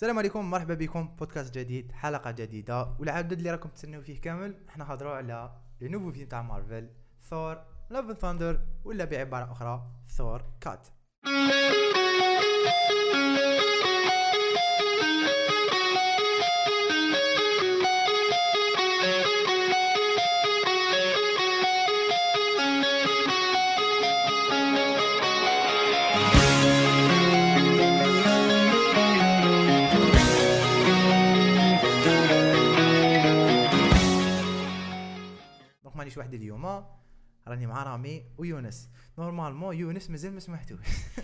السلام عليكم، مرحبا بكم بودكاست جديد، حلقه جديده والعدد اللي راكم تستناو فيه كامل. احنا هضروا على لي نوفو فيلم تاع مارفل، ثور لاف اند ثاندر، ولا بعباره اخرى ثور كات. مانيش وحدي اليوم، راني مع رامي ويونس. نورمالمون يونس مازال ما سمحتوش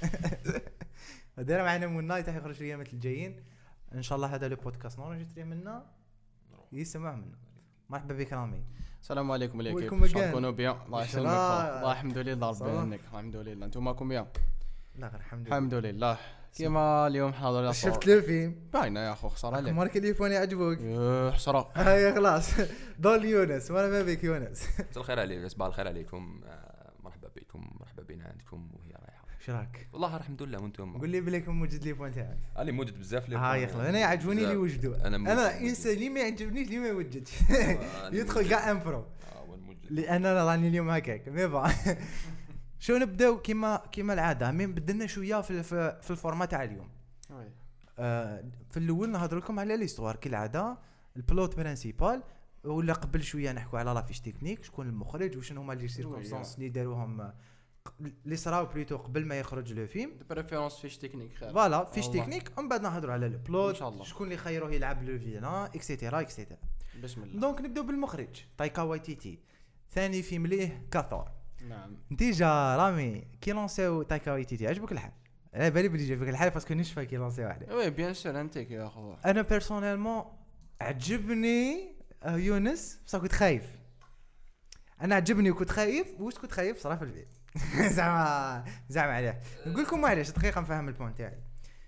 داير معنا من نايت يخرج في الايامات الجايين ان شاء الله. هذا لو بودكاست نورجستري منا يسمع منا. مرحبا بك رامي. السلام عليكم ويلكم ليكيب، شكونوا بيان؟ الله يسلمك. الله الحمد لله ربي يعينك. الحمد لله انتم ماكم بيان؟ لا غير الحمد لله. كيما اليوم حاضر شفت لو فيلم باينه يا اخو، خساره عليك مارك التليفون يعجبك حسره. هيا خلاص دول يونس. مرحبا بك يونس. مساء الخير عليكم، صباح الخير عليكم، مرحبا بكم، مرحبا بينا عندكم وهي رايحه. ايش راك؟ والله الحمد لله. وانتم؟ قول لي بليك موجود التليفون تاعك. انا موجود بزاف لي. يا اخي انا يعجبوني اللي وجدوا. انا انسان اللي ما يعجبنيش اللي ما يوجدش يدخل كاع امبرو لان انا راني اليوم هكاك مي با. شو نبداو كيما العاده، مين بدلنا شويه في الفورمات تاع اليوم. في الاول نهضر لكم على ليستوار كالعاده، البلوت برينسيبال، ولا قبل شويه نحكوا على لافيش تكنيك، شكون المخرج وشنو هما لي سيركونستانس اللي داروهم اللي صراو بليتو قبل ما يخرج لو فيلم. بريفيرونس فيش تكنيك خير، فوالا فيش تكنيك، ومن بعد نهضروا على البلوت، شكون اللي خيروه يلعب لو فيلان اكسيتيرا اكسيتيرا. بسم الله. دونك نبداو بالمخرج تايكا وايتيتي، ثاني فيلم ليه كثور. نعم ديجا رامي كي لونسيو تايكا وايتيتي عجبك الحال؟ انا بالي بلي جابك الحال باسكو نشفى كي لونسي واحده. وي بيان سور انتك يا اخو. انا بيرسونيلمون عجبني يونس، بصح كنت خايف. انا عجبني وكنت خايف. واش كنت خايف صراحه في الفيلم زعما عليه. نقول لكم معليش دقيقه نفهم البوينت تاعي.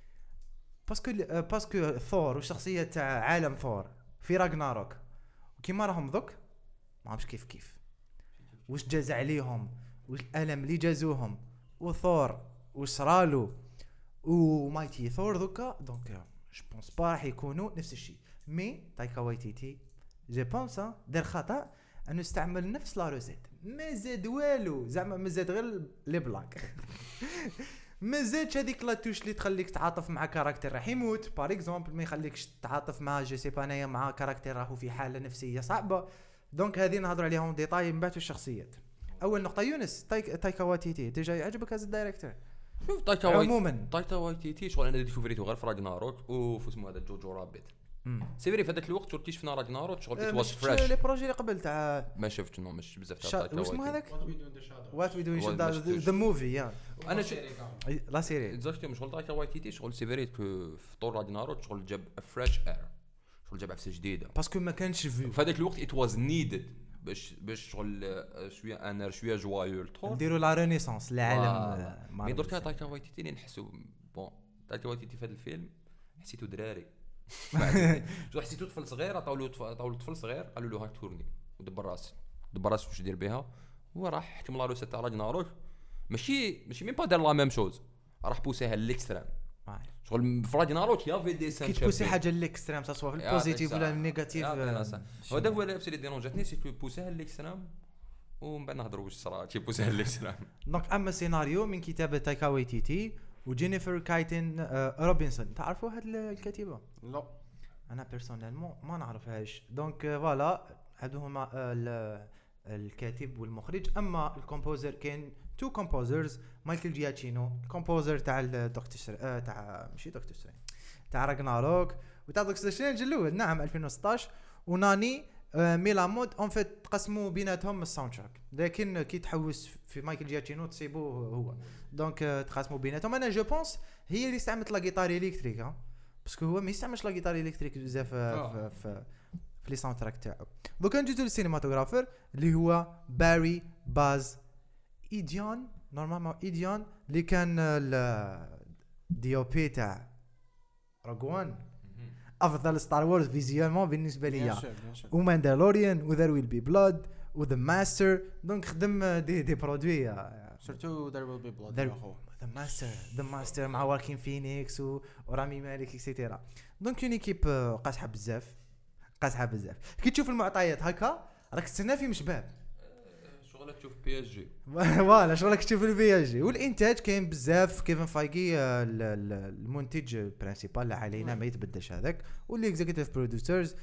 باسكو ثور والشخصيه تاع عالم ثور في راغناروك وكيما راهم ذوك ما عرفش كيف واش جاز عليهم، واش الالم اللي جازوهم، وثور واش صرالو ومايتي ثور ذوكا. دونك جو بونس با راح يكونوا نفس الشيء. مي تايكا وايتيتي جو بونس دار خطا انه استعمل نفس لا روسيت، ما زاد والو، زعما ما زاد غير لي بلاك ما زادش هذيك لا توش اللي تخليك تعاطف مع كاركتر راح يموت بار اكزومبل، ما يخليكش تعاطف مع جو سي با انايا مع كاركتر راهو في حاله نفسيه صعبه. دونك هذه نهضر عليهم ديتاي من بعد الشخصيات. اول نقطه يونس تايكا وايتيتي ديجا يعجبك هذا الدايركتور؟ شوف تايكا وايتيتي شغل انا ديكوفريتو غير في راغناروك وفسمو هذا جوجو رابيت. سيفري في هذاك الوقت شفتي شفنا راغناروك شغل اتواس فريش. لي بروجي اللي قبل تاع ما شفتش مش بزاف تاع تايكا واش اسمه هذاك وات وي دو ان Shadows. ذا موفي يا انا لا سيري اكزاكتومون شغل تايكا وايتيتي شغل سيفري في طور راغناروك شغل جاب فريش اير، شغل جاب عفسه جديده باسكو ما كانش في هذاك الوقت اتواز نيدد باش شغل شويه انر شويه جوايو الطور نديروا لا رينيسانس العالم. مي دركا تايكا وايتيتي اللي نحسوا بون تايكا وايتيتي في هذا الفيلم حسيتو دراري جو حسيتو طفل صغير، عطاولو طفل صغير قالوا له هاك تورني ودبر راسك واش يدير بها. هو راح حكم لا روسيت تاع راغناروك، ماشي ميم با دار لا ميم شوز، راح بوسيها ليكستريم. شغل في راغناروك يا في دي سان كي تبوسي حاجه ليكستريم سواء في البوزيتيف ولا النيجاتيف. هذا هو اللي اللي جاتني سي بوسيها ليكستريم ومن بعد نهضروا واش صرا كي بوسيها ليكستريم. دونك اما سيناريو من كتابه تايكا وايتيتي وجينيفر كايتن روبنسون. تعرفوا هاد الكاتبه؟ لا انا بيرسونيلمون ما نعرفهاش. دونك فوالا هادو هما الكاتب والمخرج. اما الكومبوزر كاين تو كومبوزرز، مايكل جياتشينو الكومبوزر تاع الدكتور تاع ماشي دكتور سترينج تاع راغناروك وتاع دكتور سترينج الاول نعم 2016، وناني ميلامود اون فيت تقسموا بيناتهم الساوند تراك، لكن كي تحوس في مايكل جياتشينو تصيبوه هو. دونك تقسموا بيناتهم. انا جو بونس هي اللي استعملت لا غيتار الكتريك باسكو هو ما يستعملش لا غيتار الكتريك بزاف في لي ساوند تراك تاعو. دوكا نجيو للسينماتوغرافر اللي هو باري باز ايديان. نورمالمون ايديان اللي كان الدي او بي تاع روغوان، افضل ستار وورز فيزيوالمون بالنسبه ليا، وماندالوريان وذير ويل بي بلاد وذا ماستر. دونك خدم دي برودوي سورتو ذير ويل بي بلاد. ذا ماستر مع واكين فينيكس ورامي مالك اكسيتيرا. دونك اون ايكيب قاصحه بزاف كي تشوف المعطيات هكا راك تستنى فيهم شباب شغلك تشوف بي اس جي فوالا شغلك تشوف البي اس جي. والانتاج كاين بزاف. كيفن فايغي المنتج برينسيبال اللي علينا ما يتبدلش هذاك. واللي اكزيكتيف بروديوسرز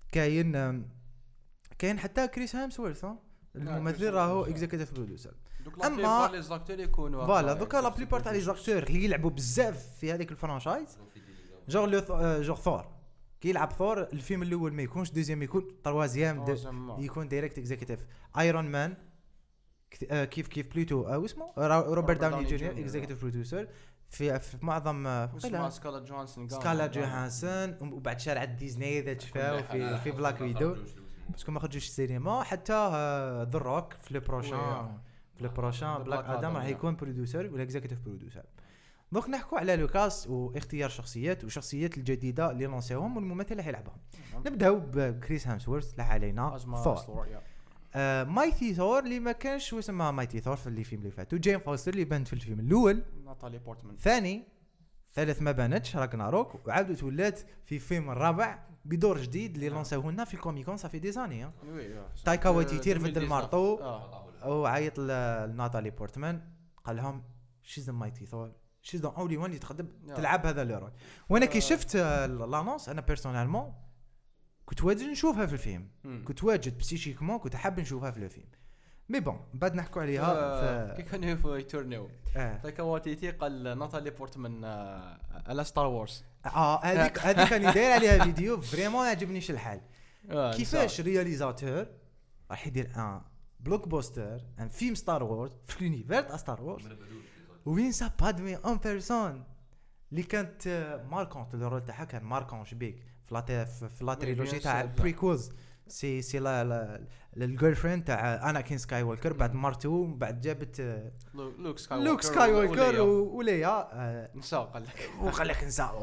كاين حتى كريس هامسورث الممثل راهو اكزيكتيف بروديوسر. اما لي زاكتور يكونوا فوالا دوكا لا بليبار تاع لي زاكتور اللي يلعبوا بزاف في هذيك الفرانشايز جور ثور كي يلعب ثور الفيلم الاول ما يكونش دوزيام يكون تروازيام يكون دايركت اكزيكتيف. ايرون مان كيف بلوتو او اسمه روبرت داوني جونيور اكزيكتيف بروديوسر في معظم سكالا جوهانسون. وبعد شارع ديزني اذا تشفاو في بلاك ويدو باسكو ما خرجوش السينما. حتى ذا روك في لو بروشان بلاك ادم راح يكون بروديوسر ولا اكزيكتيف بروديوسر. دونك نحكوا على لوكاس واختيار شخصيات الجديده اللي لانسيوهم والممثل اللي حيلعبهم. نبداو بكريس هامسورث لا علينا ثور. مايتي ثور اللي ما كانش اسمها مايتي ثور في الفيلم اللي فات. وجيم فوستر اللي بانت في الفيلم الاول. ناتالي بورتمان ثالث ما بانتش راجناروك وعاودت ولات في فيلم الرابع بدور جديد اللي لانسيوه لنا في الكوميكون صافي دي زاني. تايكا وايتيتي رفد المارطو وعيط لناتالي بورتمان قال لهم شيز مايتي ثور شيز ذا اونلي وان اللي تقدر تلعب هذا لو رول. وانا كي شفت لانونس انا بيرسونيلمون كنت واجد نشوفها في الفيلم. كنت واجد بسيشيكمون كنت حاب نشوفها في الفيلم. مي بون بعد نحكوا عليها كي كان في يتورنيو تايكا وايتيتي قال ناتالي بورتمان على ستار وورز. هذيك كان يدير عليها فيديو فريمون عجبنيش الحال. كيفاش رياليزاتور راح يدير ان بلوك بوستر ان فيلم ستار وورز في لونيفير تاع ستار وورز وينسى بادمي اون بيرسون اللي كانت ماركونت الرول تاعها كان ماركون شبيك في لا تريلوجي تاع بريكوز سي لا الجيرل فريند تاع اناكين سكاي ووكر بعد مرتو بعد جابت لوك سكاي ووكر وليا نساء قال لك نساء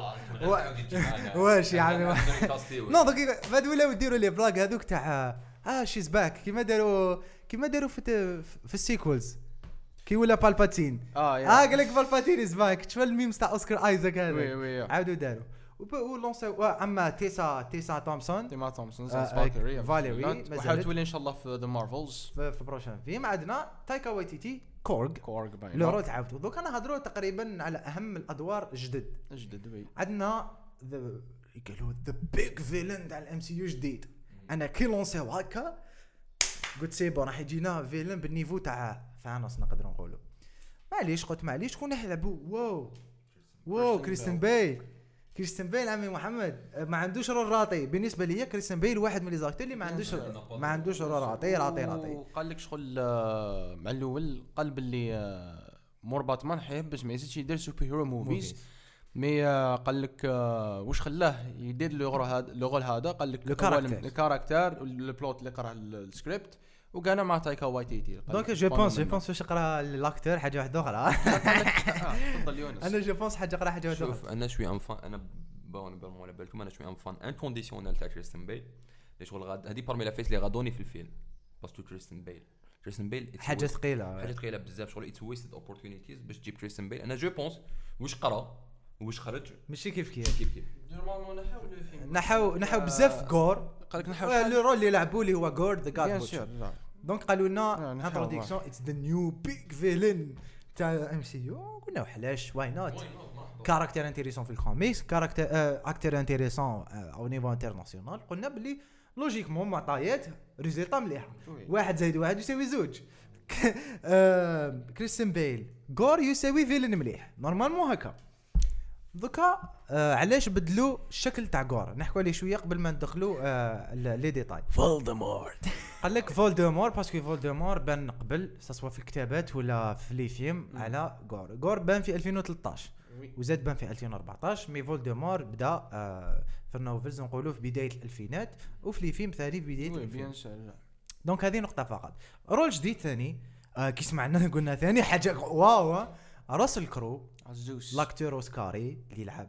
واش يعني نو دقيقه بعد ولاو يديروا لي بلاغ هذوك تاع شيز باك كيما داروا في السيكولز كي ولا بالباتين قال لك بالباتين از باك تشوف الميمز تاع اوسكار ايزاك هذا عاودوا داروا ولونسيو اما تيسا تومسون فاليري وحاول تولي ان شاء الله في ذا مارفلز في بروشان فيلم. عندنا تايكا وايتيتي كورغ لو رول تعاودوا دوك انا هضروا تقريبا على اهم الادوار جدد. عندنا قالوا ذا بيج فيلن تاع الام سي يو جديد. انا كي لونسيو هكا قلت سيبو راح يجينا فيلن بالنيفو تاع ثانوس نقدر نقولوا. معليش شكون يلعبوا واو كريستيان بيل عمي محمد ما عندوش رول راطي بالنسبه لي. كريستيان بيل واحد من لي زاكتور اللي ما عندوش رول راطي. وقال لك شغل مع الاول قلب اللي مور باتمان حيب باش ما يزيدش يدير سوبر هيرو موفيز. مي قال لك واش خلاه يدير لو رول هذا قال لك الكاركتر والبلوت اللي قرا السكريبت وقانا مع تايكا وايتيتي. دونك جو بونس واش يقرا الاكتور حاجه واحده اخرى. تفضل يونس. انا جو بونس حاجه يقرا حاجه واحده. شوف انا شوي انفان انا على بالكم انا شوي انفان انكونديسيونيل تاع كريستيان بيل ليش شغل غاد هذه بارمي لا فيس اللي غادوني في الفيلم باسكو كريستيان بيل حاجه ثقيله بزاف شغل اتس ويستد اوبورتونيتيز باش تجيب كريستيان بيل. انا جو بونس واش قرا واش خرج ماشي كيف نحاو بزاف غور. قال لك نحاو لو رول اللي لعبوا لي هو غور ذا جاد بوتشر. دونك قالوا لنا انتروداكسيون اتس ذا نيو بيج فيلن تاع ام سي يو. قلنا وحلاش واي نوت كاركتير انتريسون في الكوميكس كاركتير اكتر انتريسون او نيفو انترناسيونال. قلنا بلي لوجيكمون معطيات ريزلطه مليحه 1 زائد 1 يساوي 2. كريستيان بيل غور يساوي فيلن مليح نورمالمون هكا. دوكا علاش بدلوا الشكل تاع غور نحكوا عليه شويه قبل ما ندخلوا لي ديتاي. فولدمورت قال لك فولدمور باسكو فولدمور بان قبل سواء في الكتابات ولا في لي فيلم على غور بان في 2013 وزاد بان في 2014. مي فولدمور بدا في النوفلز نقولوا في بدايه الالفينات وفي لي فيلم ثاني في بدايه الالفينات. دونك هذه نقطه فقط. رول جديد ثاني كي سمعنا قلنا ثاني حاجه واو راسل كرو لاكتور اوسكاري اللي يلعب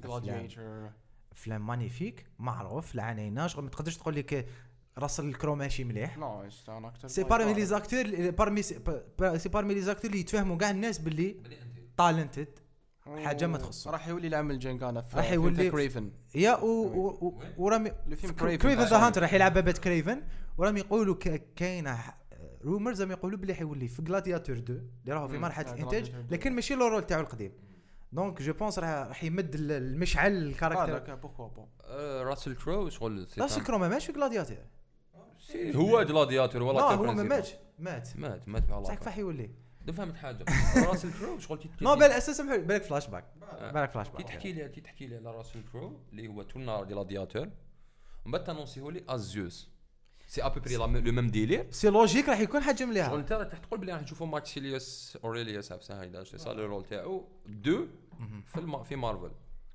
افلام مانيفيك معروف لعنينا شغل ما تقدرش تقول لك راسل الكرو ماشي مليح. سي بارمي لي زاكتور سي بارمي لي زاكتور اللي يتفاهموا كاع الناس باللي تالنتد حاجه ما تخصه. راح يولي العمل جنكانا في راح يولي كريفن يا ورامي كريفن ذا هانتر راح يلعب بيت كريفن. ورامي يقولوا كاينه رومرز زعما يقولوا بلي حيولي في غلادياتور 2 اللي راهو في مرحله الانتاج لكن ماشي لو رول تاعو القديم. دونك جو بونس راح يمد المشعل الكاركتر. راسل كرو شغل راسل كرو ما ماشي في غلادياتور هو غلادياتور ولا هو مات والله صح كيف يولي فهمت حاجه راسل كرو شغل نو بالاساس بالك فلاش باك تحكي لي على راسل كرو اللي هو تونا غلادياتور ومن بعد تانونسيه لي ازيوس سي ابري لو ميم ديلير سي لوجيك راح يكون حجم ليها شغل انت راح تقول بلي راح نشوفوا ماكسيليوس اوريليوس عفسه هيدا سي صار الرول تاعو دو في مارفل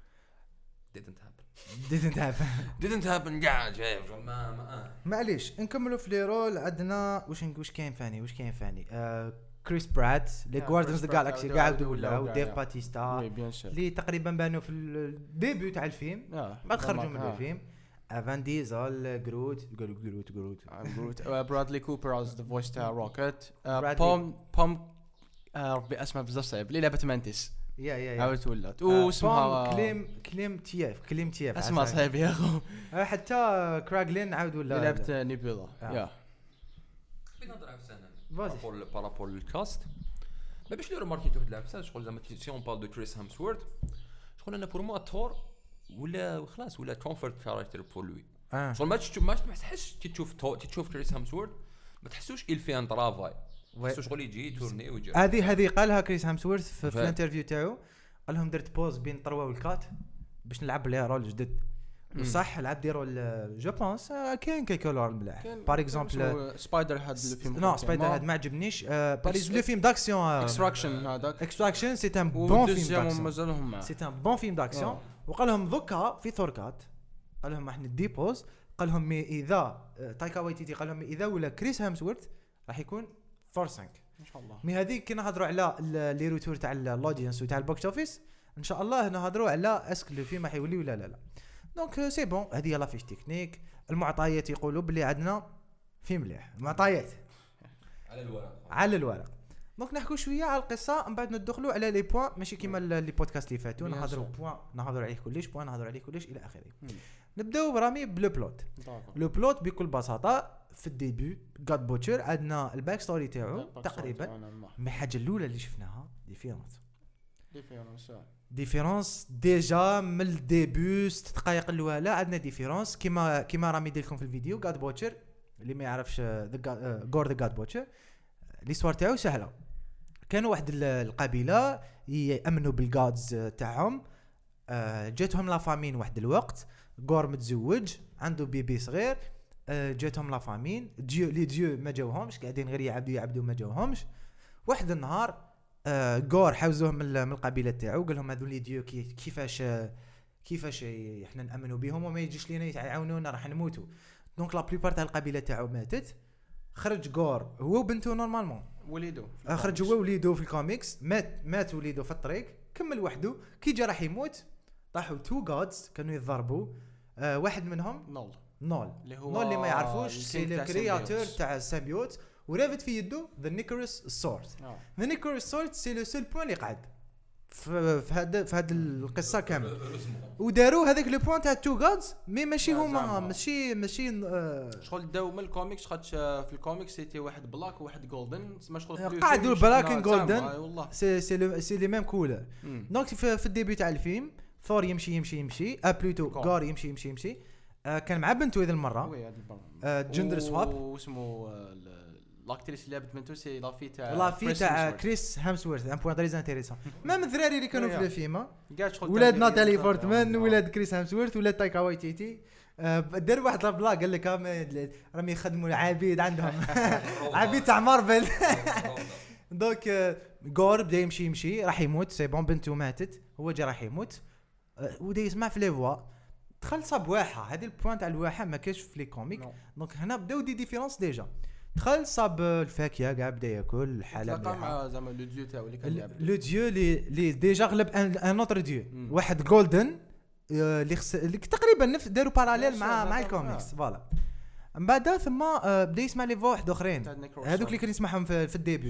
didn't happen كاع جاي معليش نكملوا في لي رول. عندنا واش كاين فاني كريس برات لي جواردنز ذا جالاكسي قاعد ولاو ديف باتيستا اللي تقريبا بانوا في الديبيو تاع الفيلم بعد خرجوا من الفيلم. افان ديزل جروت برادلي كوبر از ذا فويس تاع روكيت بوم ربي اسمه بزاف صعيب اللي لعبت مانتيس يا عاودت ولات واسمها كليم تياف اسمها صعيب يا اخو. حتى كراغلين عاود ولا لعبت نيبيلا يا بنظر على السنه بارابول الكاست ما باش لي ماركيتو هاد العفسه شغل زعما سي اون بال دو كريس هامسورث شغل انا بور مو تور ولا خلاص ولا كومفورت كاركتر بور لوي شغل ما تحسش تشوف كريس هامسورث ما تحسوش il fait un travail بس شغل يجي تورني ويجي. هذه قالها كريس هامسورث في الانترفيو تاعو قال لهم درت بوز بين 3 والكات باش نلعب ليها رول جديد وصح لعب دي رول جو بونس كاين كيكو رول ملاح بار اكزومبل سبايدر هاد الفيلم نو سبايدر هاد ما عجبنيش باريس لو فيلم داكسيون اكستراكشن سي ان بون فيلم داكسيون سي ان بون فيلم داكسيون. وقال لهم ذكا في ثوركات قال لهم احنا دي بوز قال لهم اذا تايكا وايتيتي قال لهم اذا ولا كريس هامسورث راح يكون فورسنك ان شاء الله. مي هذيك كي نهضروا على لي روتور تاع الاودينس وتاع البوكس اوفيس ان شاء الله نهضروا على اسك لو فيلم راح يولي ولا لا. دونك سي بون هذه لا فيش تكنيك. المعطيات يقولوا بلي عندنا في مليح معطيات على الورق. دونك نحكوا شويه على القصه من بعد ندخلوا على لي بوين ماشي كيما لي بودكاست اللي فاتوا نهضروا بوين نهضروا عليه كلش الى اخره. نبداو برامي بلو بلوت. لو بلوت بكل بساطه في الديبي غاد بوتشر عندنا الباك ستوري تاعو تقريبا مي حاجه الاولى اللي شفناها ديفيرونس ديجا من الديبي 6 دقائق الاولى عندنا ديفيرونس كيما رامي يدير لكم في الفيديو غاد بوتشر اللي ما يعرفش غور ذا غاد بوتشر ليستوار تاعو سهله. كانوا واحد القبيله يامنوا بالغادز تاعهم جاتهم لا فامين واحد الوقت غور متزوج عنده بيبي صغير جاتهم لا فامين ديو ما جاوهمش قاعدين غير يعبدوا ما جاوهمش. واحد النهار غور حوزوه من القبيله تاعو قال لهم هذول لي ديو كيفاش احنا نامنوا بهم وما يجيش لينا يعاونونا راح نموتوا. دونك لا بليبار تاع القبيله تاعو ماتت. خرج غور هو وبنته نورمالمون وليدو خرج هو وليدو في الكوميكس مات وليدو في الطريق كمل وحده كي جا راح يموت طاحوا 2 جادز كانوا يضربوا واحد منهم نول اللي ما يعرفوش سي الكرياتور تاع السيمبيوت ورافد في يده ذا نيكروس سورد. ذا نيكروس سورد سي لو سول بوين اللي قعد في هذا القصه كامل وداروا هذاك لو بوين تاع 2 جادز مي ماشي هما ماشي شغل داو من الكوميكس خاطش في الكوميكس سيتي واحد بلاك وواحد جولدن تسمى شغل قعدوا بلاك اند جولدن سي لي ميم كولر. دونك في الديبي تاع الفيلم ثور يمشي بلوتو غار يمشي كان مع بنته هذه المره جندر سواب واسمه لاكتريس اللي لعبت بنته سي لافي تاع كريس هامسورث ان بوين تريز انتريسون. ميم الذراري اللي كانوا في الفيلم ولاد ناتالي بورتمان ولاد كريس هامسورث ولاد تايكا وايتيتي دار واحد البلا قال لك راهم يخدموا العبيد عندهم عبيد تاع مارفل. دونك غور بدا يمشي راح يموت سي بون بنته ماتت هو جا راح يموت ودا يسمع في لي فوا دخل صاب واحه هذه البوين تاع الواحه ما كاش في لي كوميك. دونك هنا بداو دي ديفيرونس ديجا دخل صاب الفاكهه كاع بدا ياكل الحلب مع زعما لو ديو تاعو اللي كان يلعب لو ديو اللي ديجا غلب ان اوتر ديو واحد جولدن اللي تقريبا نفس داروا باراليل مع الكوميكس فوالا. من بعد ثم بدا يسمع لي فوا واحد اخرين هذوك اللي كان يسمعهم في الديبي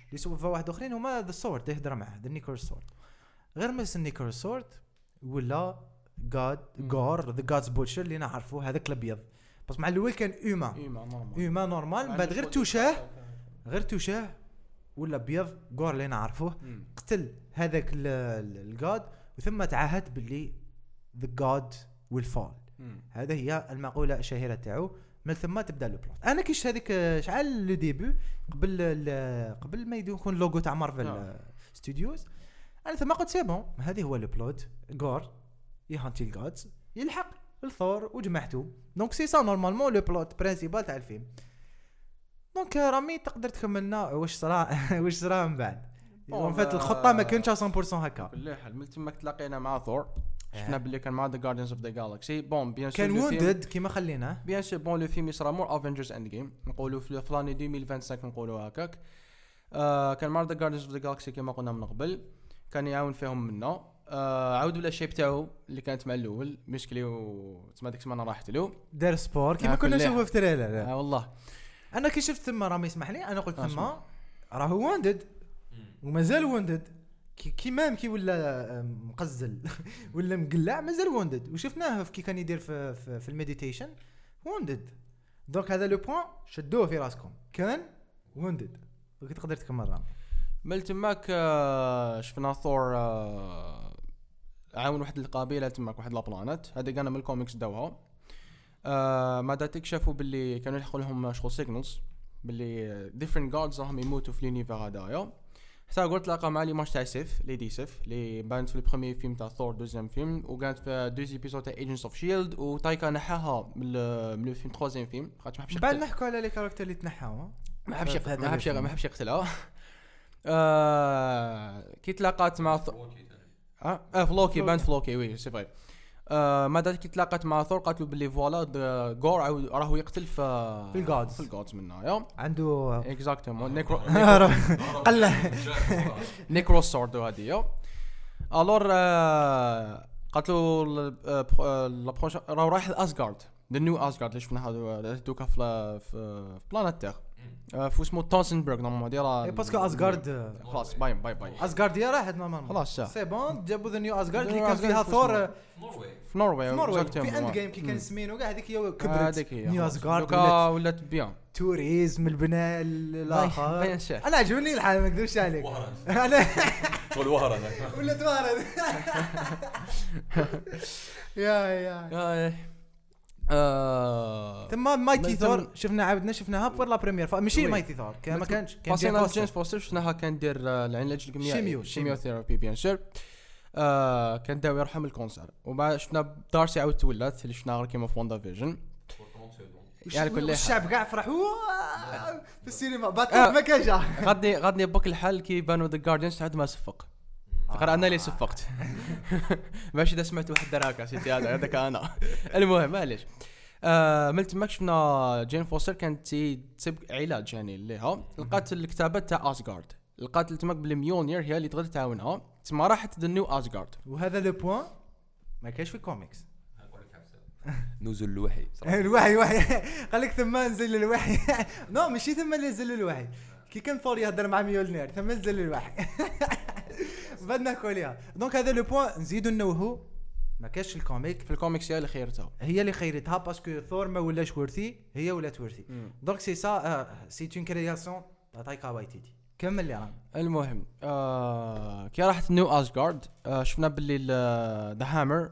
اللي سوفا واحد اخرين هما ذا سورد يهضر معاه ذا نيكور سورد غير مس نيكور سورد ولا غور ذا جادز بوتشر اللي نعرفوه هذاك الابيض بس مع الاول كان اوما نورمال بعد غير توشاه ولا ابيض غور اللي نعرفوه قتل هذاك الجاد وثم تعهد باللي ذا جاد ويل فول. هذا هي المقوله الشهيره تاعو. من ثم تبدا لو بلوت. انا كيش هذيك شحال لو ديبي قبل ما يكون اللوغو تاع مارفل ستوديوز انا ثم قلت سي بون هذه هو لو بلوت غور يهانتي الجادز يلحق الثور وجمعته دونك سي سا نورمالمون لو بلوت برينسيبال تاع الفيلم. دونك رامي تقدر تكملنا واش صرا من بعد اون فيت الخطه ما كانتش 100% هكا. كل حال من تماك تلاقينا مع ثور شفنا باللي كان مع ذا جاردينز اوف ذا جالكسي بون بيان سور كان ووندد كيما خليناه بيان سور بون لو فيلم يصرا مور افنجرز اند جيم نقولوا في فلاني 2025 نقولوا هكاك. كان مع ذا جاردينز اوف ذا جالكسي كيما قلنا من قبل كان يعاون فيهم منا. عاودوا لا الشيب تاعو اللي كانت مع الاول مشكلي وتسمى ديك السمانه راحت له دار سبور كيما كنا نشوفوا في تريلر. والله انا كي شفت ثم رامي يسمح لي انا قلت ثم راه ووندد ومازال ووندد كي ولا مقزل ولا مقلع مازال ووندد وشفناه كي كان يدير في المديتيشن ووندد. دونك هذا لو بوين شدوه في راسكم كان ووندد وكي تقدر تكمل رامي. مل تماك شفنا ثور عاون واحد القبيله تماك واحد لابلانات هذا كان من الكوميكس داوها. ما دا تكشفوا باللي كانوا يحقوا لهم شغل سيجنالز باللي ديفرنت جادز راهم يموتوا في لونيفر هذايا. حتى قلت لاقا مع لي ماش تاع سيف ليدي سيف اللي بانت في البروميير فيلم تاع ثور دوزيام فيلم وكانت في دوز ايبيزود تاع ايجنتس اوف شيلد وتايكا نحاها من الفيلم ثروزيام فيلم خاطر ما حبش بعد نحكوا على لي كاركتر اللي تنحاوا ما حبش يقتلها. كي تلاقات مع فلوكي بانت فلوكي وي سي فري. ماذا كي تلاقات مع ثور قالت له باللي فوالا غور راهو يقتل في الجودز منها يا عنده اكزاكتومون نيكرو قال نيكرو سورد هذه يا الور قالت له لابروش راهو رايح لاسغارد ذا نيو اسغارد اللي شفنا هذا دوكا في بلانيت تيغ فو اسمه تونسنبرغ نورمالمون ديرا باسكو اسغارد خلاص باي اسغارد يا راحت نورمالمون خلاص سي بون جابوا ذا نيو اسغارد اللي كان فيها ثور في نوروي في اند جيم كي كان سمينو كاع هذيك هي كبرت نيو اسغارد ولات بيان توريزم البناء الاخر. انا عجبني الحال ما نكذبش عليك انا تقول وهران ولا توارد يا ثم مايتي ثور شفناها بور لا بريمير ماشي مايتي ثور ما كانش كان جيمس فوستر شفناها كان دير العلاج الكيميائي شيميوثيرابي بيان سور. كان داوي يرحم الكونسر وبعد شفنا دارسي عاود تولات اللي شفناها كيما في واندا فيجن يعني كل الشعب كاع فرحوا في السينما باتل ما كان جا غادني بك الحال كي بانوا ذا جاردينز عاد ما صفق غير انا اللي صفقت ماشي اذا سمعت واحد دراكه سيتي هذاك انا المهم معليش. ملت ماك شفنا جين فوستر كانت تسب علاج يعني ليها لقات الكتابات تاع اسغارد لقات تماك بالميونير هي اللي تقدر تعاونها تسمى راحت ذا نيو اسغارد. وهذا لو بوين ما كاينش في الكوميكس نزل الوحي الوحي قال لك ثم نزل الوحي نو ماشي ثم اللي نزل الوحي كي كان ثور يهضر مع ميولنير ثم نزل الوحي بدنا كوليها. دونك هذا لو بوين نزيدو نوهو ما كاش الكوميك في الكوميكس هي اللي خيرتها باسكو ثور ما ولاش ورثي هي ولات ورثي. دونك سي سا سي اون كرياسيون تاع تايكا وايتيتي كمل لي راه. المهم كي راحت نيو اسغارد شفنا باللي ذا هامر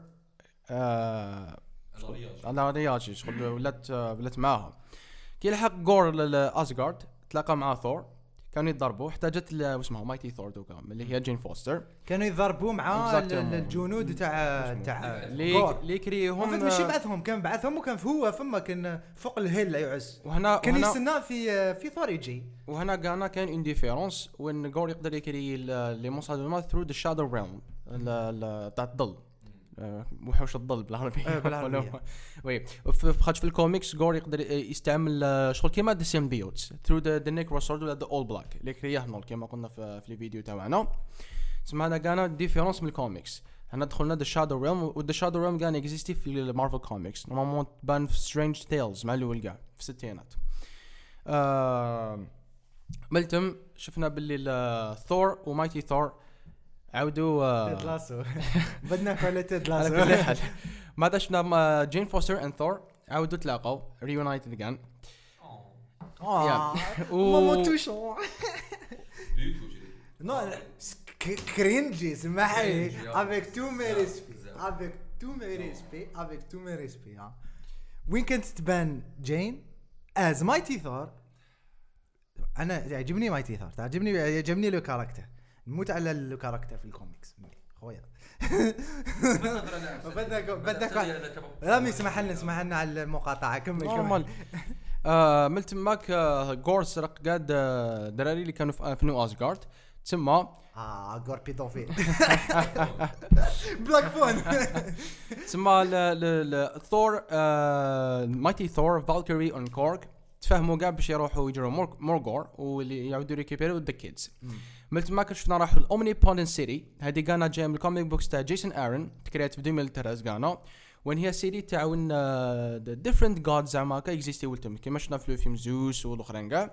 على رياجي شغل ولات معاها كي لحق غور لاسغارد تلاقى مع ثور كانوا يضربوا احتاجت اسمها مايتي ثور دوكا اللي هي جين فوستر كانوا يضربوا مع الجنود تاع اللي كريهم ماشي بعثهم كان بعثهم وكان هو فما كان فوق الهيل يعس وهنا كان يستنى في ثور يجي وهنا كان اون ديفيرونس وين غور يقدر يكري لي مونستر ثرو ذا شادو ريلم تاع الظل وحوش الظل بالعربي وي في الكوميكس غور يقدر يستعمل شغل كيما ذا سيمبيوتس ثرو ذا نيكرو سورد ولا ذا اول بلاك اللي كرياه نول كيما قلنا في الفيديو تاعنا. سمعنا كان ديفيرونس من الكوميكس هنا دخلنا ذا شادو ريلم وذا شادو ريلم كان اكزيستي في المارفل كوميكس نورمالمون بان في سترينج تيلز مع الاول كاع في الستينات. ملتم شفنا باللي ثور ومايتي ثور عاودوا تيد لاسو بدنا على تيد على لاسو كل حال ما شفنا جين فوستر اند ثور عاودوا تلاقوا ريونايتد اجان ماما توشون نو كرينجي سمحي avec tout mes respects avec tout mes respects وين كنت تبان جين از مايتي ثور. انا يعجبني مايتي ثور، يعجبني له كاركتر، نموت على له كاركتر في الكوميكس خويا. بدك رامي اسمح لنا على المقاطعه. كمل ملت ماك غور سرق قاد دراري اللي كانوا في نيو أسغارد تسمى غور بيدوفيل بلاك فون تسمى ثور مايتي ثور فالكيري اون كورك تفهموا كاع باش يروحوا يجروا مورغور واللي يعاودوا ريكيبيرو ذا كيدز. ملت ما شفنا راحوا الاومني بوندن سيتي، هذه كانت جايه من الكوميك بوكس تاع جيسون ارون تكريت في 2013 كانوا وين هي سيتي تاعون ديفرنت جودز زعما كايكزيستي ولتم كيما شفنا في الفيلم زوس والاخرين كاع.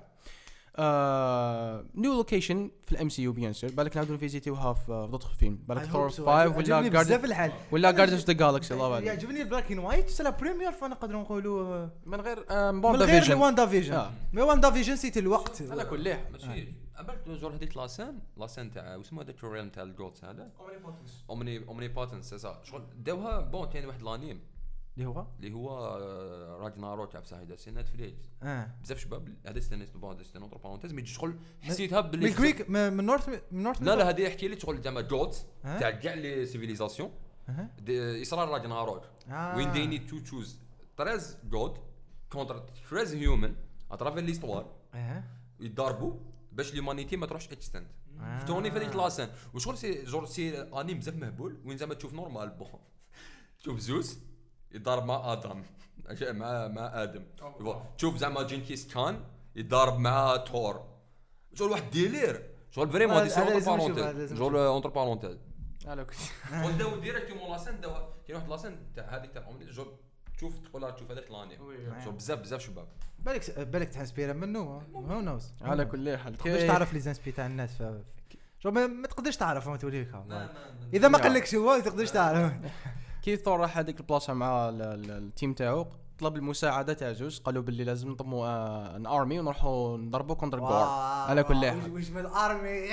نيو لوكيشن في الام سي يو بيان سور بالك نعاودوا نفيزيتيوها في دوطخ فيلم بالك ثور 5 ولا جاردنز اوف ذا جالكسي. الله يبارك يعجبني البلاك اند وايت سي لا بريمير فوا نقدروا نقولوا من غير وان دافيجن مي وان دافيجن سيتي الوقت على كل حال ماشي قبلت جور هذيك لاسان تاع واسمو هذا التوريال تاع الجولز هذا اومني بوتنس شغل داوها بون كاين واحد الانيم اللي هو راجناروك تاع بصح سي نتفليكس بزاف شباب هذا استنيت بون هذا نوتر بارونتيز مي شغل حسيتها باللي من كريك من نورث لا هذه يحكي لي شغل زعما جولز تاع كاع لي سيفيليزاسيون اصرار راجناروك وين دي نيد تو تشوز 13 جود كونتر 13 هيومن اترافير ليستوار يضربوا باش ليمانيتي ما تروحش اكستند فتوني في هذيك لاسين وشغل سي انيم بزاف مهبول وين زعما تشوف نورمال بون تشوف زوس يضارب مع ادم مع ادم تشوف زعما جينكيس كان يضارب مع تور شغل واحد ديلير شغل فريمون دي سونتر بارونتيز شغل اونتر بارونتيز شغل داو ديريكتومون لاسين داو كاين واحد لاسين تاع هذيك تاع اومني شغل تشوف هذاك لاني شغل بزاف شباب بالك تحسبيره منه هو نوز على كل حال تقدرش تعرف لي زانسبي تاع الناس شو ما تقدرش تعرف ما توريك اذا ما قالكش هو تقدرش تعرف. كي ثور راح هذيك البلاصه مع التيم تاعو طلب المساعده تاع زوس قالوا باللي لازم نضموا ان ارمي ونروحوا نضربوا كونتر جور على كل حال واش من الارمي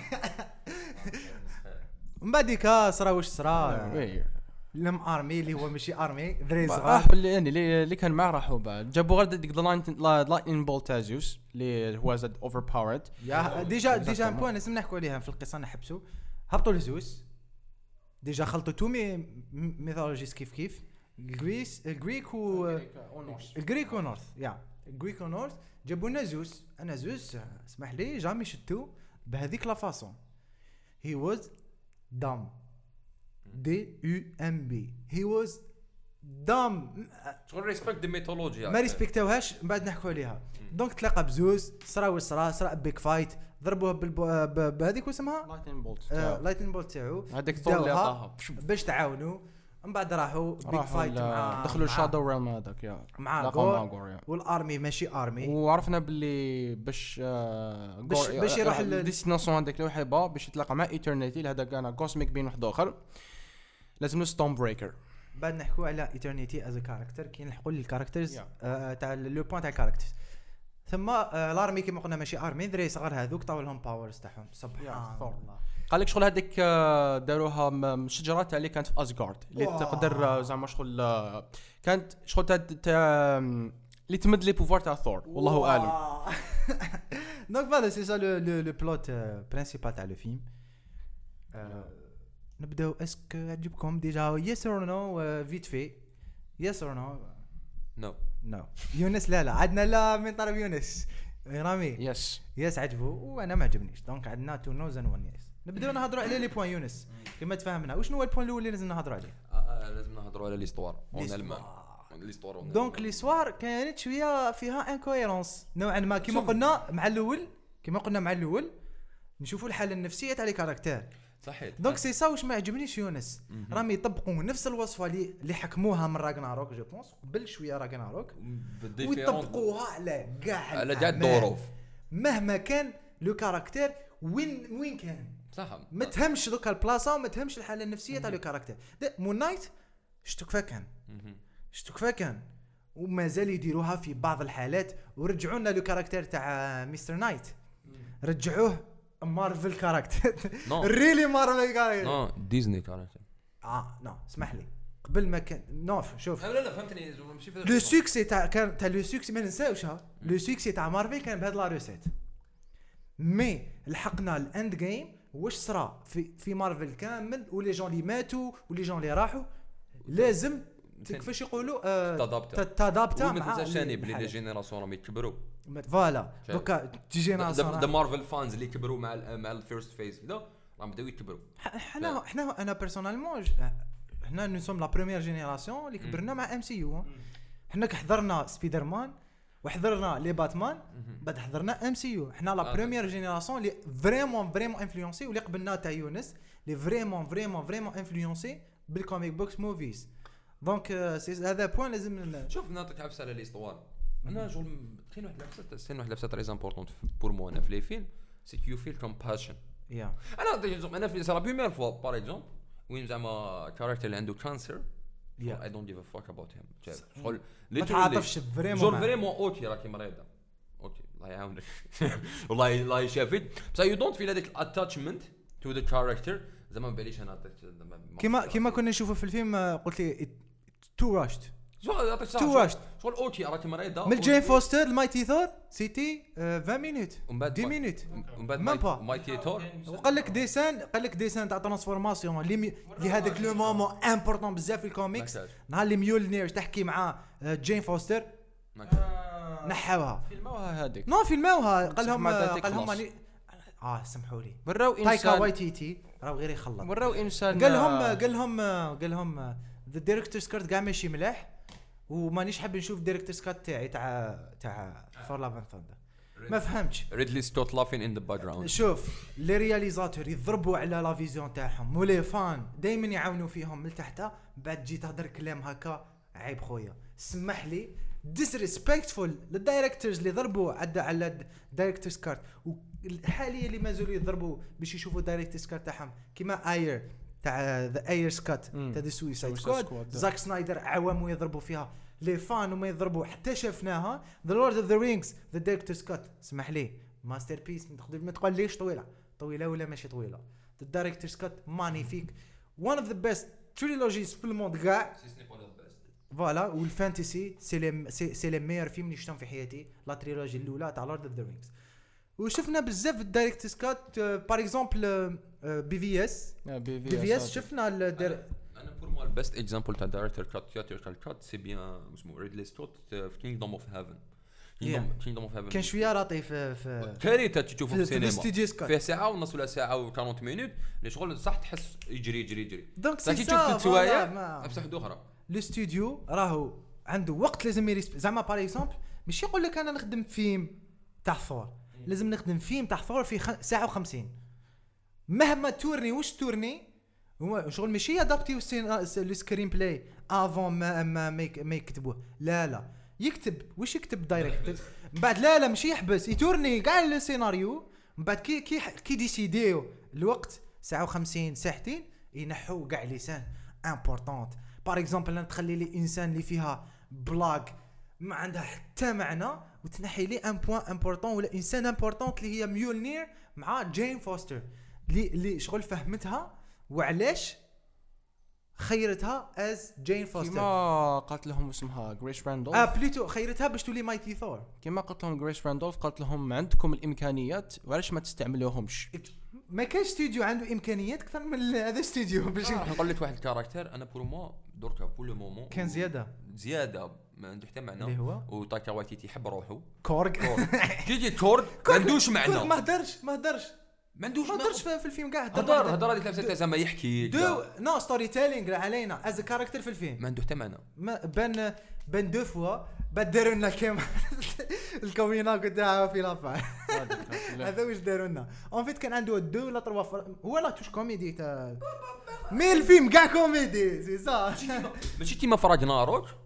من بعديك صرا واش صرا لم ارمي اللي هو ماشي ارمي دري صغار اللي كان معاه راحوا بعد جابوا غير ديك لايتنين بول تاع زوس اللي هو زاد اوفر باورد ديجا بوين لازم نحكوا عليها في القصه نحبسوا هبطوا لزوس ديجا خلطوا تو ميثولوجيز كيف الجريك ونورث الجريك ونورث جابوا لنا زوس. انا زوس اسمح لي جامي شتو بهذيك لا فاصون هي واز دام DUMB he was dumb شغل ريسبكت دي ميثولوجيا ما ريسبكتوهاش من بعد نحكوا عليها دونك تلاقى بزوس صرا بيك فايت ضربوه بهذيك واسمها لايتنين بولت تاعو هذاك ثور اللي عطاها باش تعاونوا من بعد راحوا بيك فايت مع دخلوا الشادو ريلم هذاك مع غور والارمي ماشي ارمي وعرفنا باللي باش يروح الديستيناسيون هذاك اللي يحبها باش يتلاقى مع ايترنيتي هذا كان كوسميك بين واحد اخر لازم ستون بريكر. بعد نحكوا على ايترنيتي از كاركتر كي نحكوا للكاركترز تاع لو بوين تاع الكاركترز ثم الارمي كيما قلنا ماشي ارمي دري صغار هذوك طاو لهم باورز تاعهم سبحان الله. قال لك شغل هذيك داروها شجره تاع اللي كانت في اسغارد اللي تقدر زعما شغل كانت شغل تاع اللي تمد لي بوفوار تاع ثور والله اعلم. دونك فوالا سي سا لو بلوت برينسيبال تاع لو فيلم. نبداو اسك عجبكم ديجا يس اور نو فيت في يس اور نو يونس لا عندنا لا من طرف يونس رامي يس عجبه وانا ما عجبنيش دونك عندنا تو نوز ان وان يس. نبداو نهضروا على لي بوين يونس كما تفاهمنا وشنو هو البوين الاول اللي لازم نهضروا عليه لازم نهضروا على ليستوار ليستوار دونك ليستوار كانت شويه فيها انكويرونس نوعا ما كما قلنا مع الاول نشوفوا الحاله النفسيه تاع لي كاركتير صحيح دونك سي سا واش ما عجبنيش يونس راهم يطبقوا نفس الوصفه اللي حكموها من راغناروك جو بونس قبل شويه راغناروك ويطبقوها على كاع الظروف مهما كان لو كاركتير وين كان صح ما تهمش دوكا البلاصه وما تهمش الحاله النفسيه تاع لو كاركتير. مون نايت شتو كفا كان ومازال يديروها في بعض الحالات. ورجعوا لنا لو كاركتير تاع مستر نايت رجعوه مارفل كاركتير ريلي مارفل كاركتير نو ديزني كاركتير نو اسمح لي قبل ما كان شوف لا فهمتني ماشي لو سوكسي تاع لو سوكسي ما ننساوش لو سوكسي تاع مارفل كان بهاد لا ريسيت. مي لحقنا الاند جيم واش صرا في مارفل كامل ولي جون اللي ماتوا ولي جون اللي راحوا لازم كيفاش يقولوا تادابتا مع ما تنساش بلي لي جينيراسيون راهم يكبروا فوالا دوكا تي جينيراسيون ذا مارفل فانز اللي كبروا مع الفيرست فيز كذا راهم بداو يكبروا. احنا انا بيرسونيلمون احنا نو سوم لا بروميير جينيراسيون اللي كبرنا مع ام سي يو. احنا حضرنا سبايدر مان وحضرنا لي باتمان بعد حضرنا ام سي يو. احنا لا بروميير جينيراسيون اللي فريمون انفلونسي واللي قبلنا تاع يونس اللي فريمون انفلونسي بالكوميك بوكس موفيز. دونك هذا بوين لازم شوف نعطيك عفسه على ليستوار. انا شغل كاين واحد العفسه تري امبورطونت بور مو انا في لي فيلم سي كيو فيل كومباشن. انا في سا بروميير فوا بار اكزومبل وين زعما كاركتر اللي عنده كانسر I don't give a fuck about him. شغل ما تعاطفش فريمون اوكي راكي مريضه اوكي الله يعاونك والله يشافيك بس you don't feel هذاك attachment to the character زعما ما باليش انا كيما كنا نشوفه في الفيلم. قلت لي تو راشت شغل اوكي راكي مريضه من جين فوستر المايتي ثور سيتي 20 مينوت 10 مينوت ومن بعد مايتي ثور وقال لك ديسان تاع ترانسفورماسيون اللي هذاك لو مومون امبورطون بزاف في الكوميكس. نهار اللي ميولنير تحكي مع جين فوستر نحاوها فيلموها قال لهم سمحوا لي وراو تايكا وايتيتي راهو غير يخلط وراو انسان قال لهم ذا دايركتورز كارت كاع ماشي ملاح ومانيش حاب نشوف دايركتورز كات تاع فور لاف اند ثاندر. ما فهمتش ريدلي ستوت لافين ان ذا باك جراوند. شوف لي رياليزاتور يضربوا على لا فيزيون تاعهم ولي فان دائما يعاونوا فيهم من تحت. بعد جيت تهضر كلام هكا عيب خويا سمح لي ديسريسبكتفول للدايركتورز اللي ضربوا على دايركتورز كارت والحاليا اللي مازالوا يضربوا باش يشوفوا دايركتورز كارت تاعهم كيما اير تاع ذا اير سكات تاع ذا سويسايد سكواد. زاك سنايدر عوام يضربوا فيها لي فان وما يضربوا حتى شفناها. ذا لورد اوف ذا رينجز ذا دايركتورز كات اسمح لي ماستر بيس ما تقوليش طويله ولا ماشي طويله. ذا دايركتورز كات مانيفيك وان اوف ذا بيست تريلوجيز في الموند كاع فوالا. والفانتسي سي لي ميور فيلم اللي شفتهم في حياتي لا تريلوجي الاولى تاع لورد اوف ذا رينجز. وشفنا بزاف الدايركتورز كات بار اكزومبل بي في اس شفنا انا بور مو البيست اكزامبل تاع دايركتور كات سي بيان اسمه ريدلي ستوت في كينغدوم اوف هيفن. كينغدوم اوف هيفن كان شويه راطي في كارثه تشوفه في السينما فيه ساعه ونص ولا ساعه و40 مينوت اللي شغل صح تحس يجري دونك تشوف التوايا بصح حدو اخرى. الاستوديو راهو عنده وقت لازم يريسبكت. زعما بار اكزومبل مش يقول لك انا نخدم فيلم تاع ثور لازم نخدم فيلم تاع ثور في ساعه و50 مهما تورني واش تورني هو شغل ماشي ادابتيو السكرين بلاي افون ما يكتبوه. لا يكتب واش يكتب دايركتور من بعد لا ماشي يحبس يتورني كاع السيناريو من بعد كي ديسيديو الوقت ساعه و50 ساعتين ينحوا كاع لسان امبورطونت. بار اكزومبل تخلي لي انسان اللي فيها بلاك ما عندها حتى معنى وتنحي لي ان بوين امبورطون ولا انسان امبورطون اللي هي ميولنير مع جين فوستر اللي شغل فهمتها وعلاش خيرتها از جين فوستر. كما قالت لهم اسمها غريس راندولف بليتو خيرتها باش تولي مايتي ثور. كما قالت لهم غريس راندولف قالت لهم عندكم الامكانيات وعلاش ما تستعملوهمش. ما كاينش استوديو عنده امكانيات اكثر من هذا استوديو باش نقول لك واحد الكاركتر انا بور مو دركا بول مومون كان زياده ما عنده حتى معنى وتايكا وايتيتي يحب روحه كورغ كيجي كورغ ما عندوش معنى ما هدرش في الفيلم كاع هدر هذيك لابسه زعما يحكي نو ستوري تيلينغ علينا از كاركتر في الفيلم ما عنده حتى معنى. بان دو فوا داروا لنا كيما الكومينا تاعو في لافا هذا واش داروا لنا اون فيت كان عنده دو ولا تروا هو لا توش كوميدي تاع مي الفيلم كاع كوميدي سي صح ماشي كيما فراج ناروك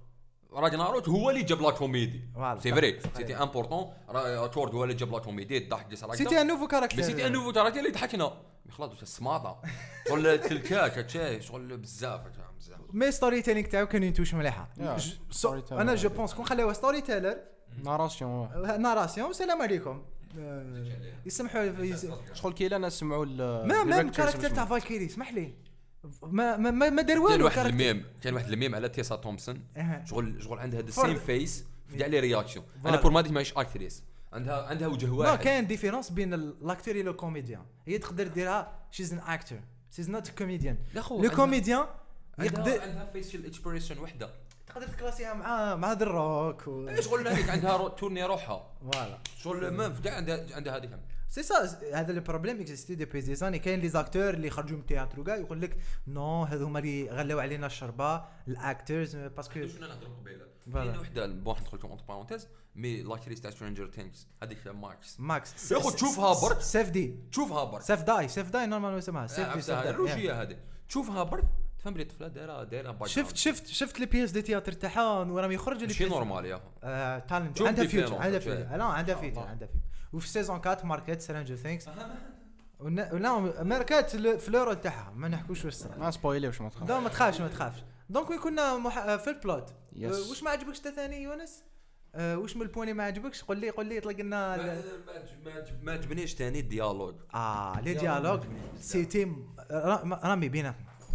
راجناروك هو اللي جاب لا كوميدي Voilà. سي فري سيتي امبورطون ثور هو اللي جاب لا كوميدي الضحك ديال ساراك سيتي ان نوفو كاركتير سيتي ان نوفو كاركتير اللي ضحكنا خلاص واش السماطه شغل التلكاك هادشي شغل بزاف مي ستوري تيلينغ تاعو كانوا ينتوش مليحه انا جو بونس كون خليوها ستوري تيلر ناراسيون سلام عليكم يسمحوا شغل كي لا نسمعوا ما الكاركتير تاع فالكيري اسمح لي ما دار والو كان واحد الميم على تيسا تومسون شغل عندها هذا السيم فيس في كاع لي رياكسيون انا بور ما ديك ماهيش اكتريس عندها وجه واحد كاين ديفيرونس بين الاكتور و لو كوميديان هي تقدر ديرها شيز ان اكتور شيز نوت كوميديان لو كوميديان يقدر عندها فيشل اكسبريشن وحده تقدر تكلاسيها مع دروك شغل هذيك عندها تورني روحها فوالا شغل ما في كاع عندها هذيك سي سا هذا لو بروبليم اكزيستي دي بيزيزاني كاين لي زاكتور اللي خرجوا من التياترو كاع يقول لك نو هذو هما اللي غلاو علينا الشربه الاكتورز باسكو شنو نهضروا قبيله كاين وحده بون ندخل لكم اونتر بارونتيز مي لاكتريس تاع سترينجر ثينكس هذيك ماكس ياخذ تشوفها برك تشوفها برك سيف داي نورمال اسمها سيف داي الروجيه هذه تشوفها برك تفهم بلي الطفله دايره باك شفت لي بيس دي تياتر تاعها وراهم يخرجوا لي شي نورمال يا تالنت عندها فيوتشر عندها فيوتشر وفي سيزون 4 ماركت سترينجر ثينكس ولا ماركت فلور تاعها ما نحكوش واش صرا ما سبويليوش ما تخافش لا ما تخافش دونك كنا في البلوت واش ما عجبكش ثاني يونس واش من البوين ما عجبكش قول لي اطلق لنا ما عجبنيش ثاني الديالوج لي ديالوج سيتي رامي بينات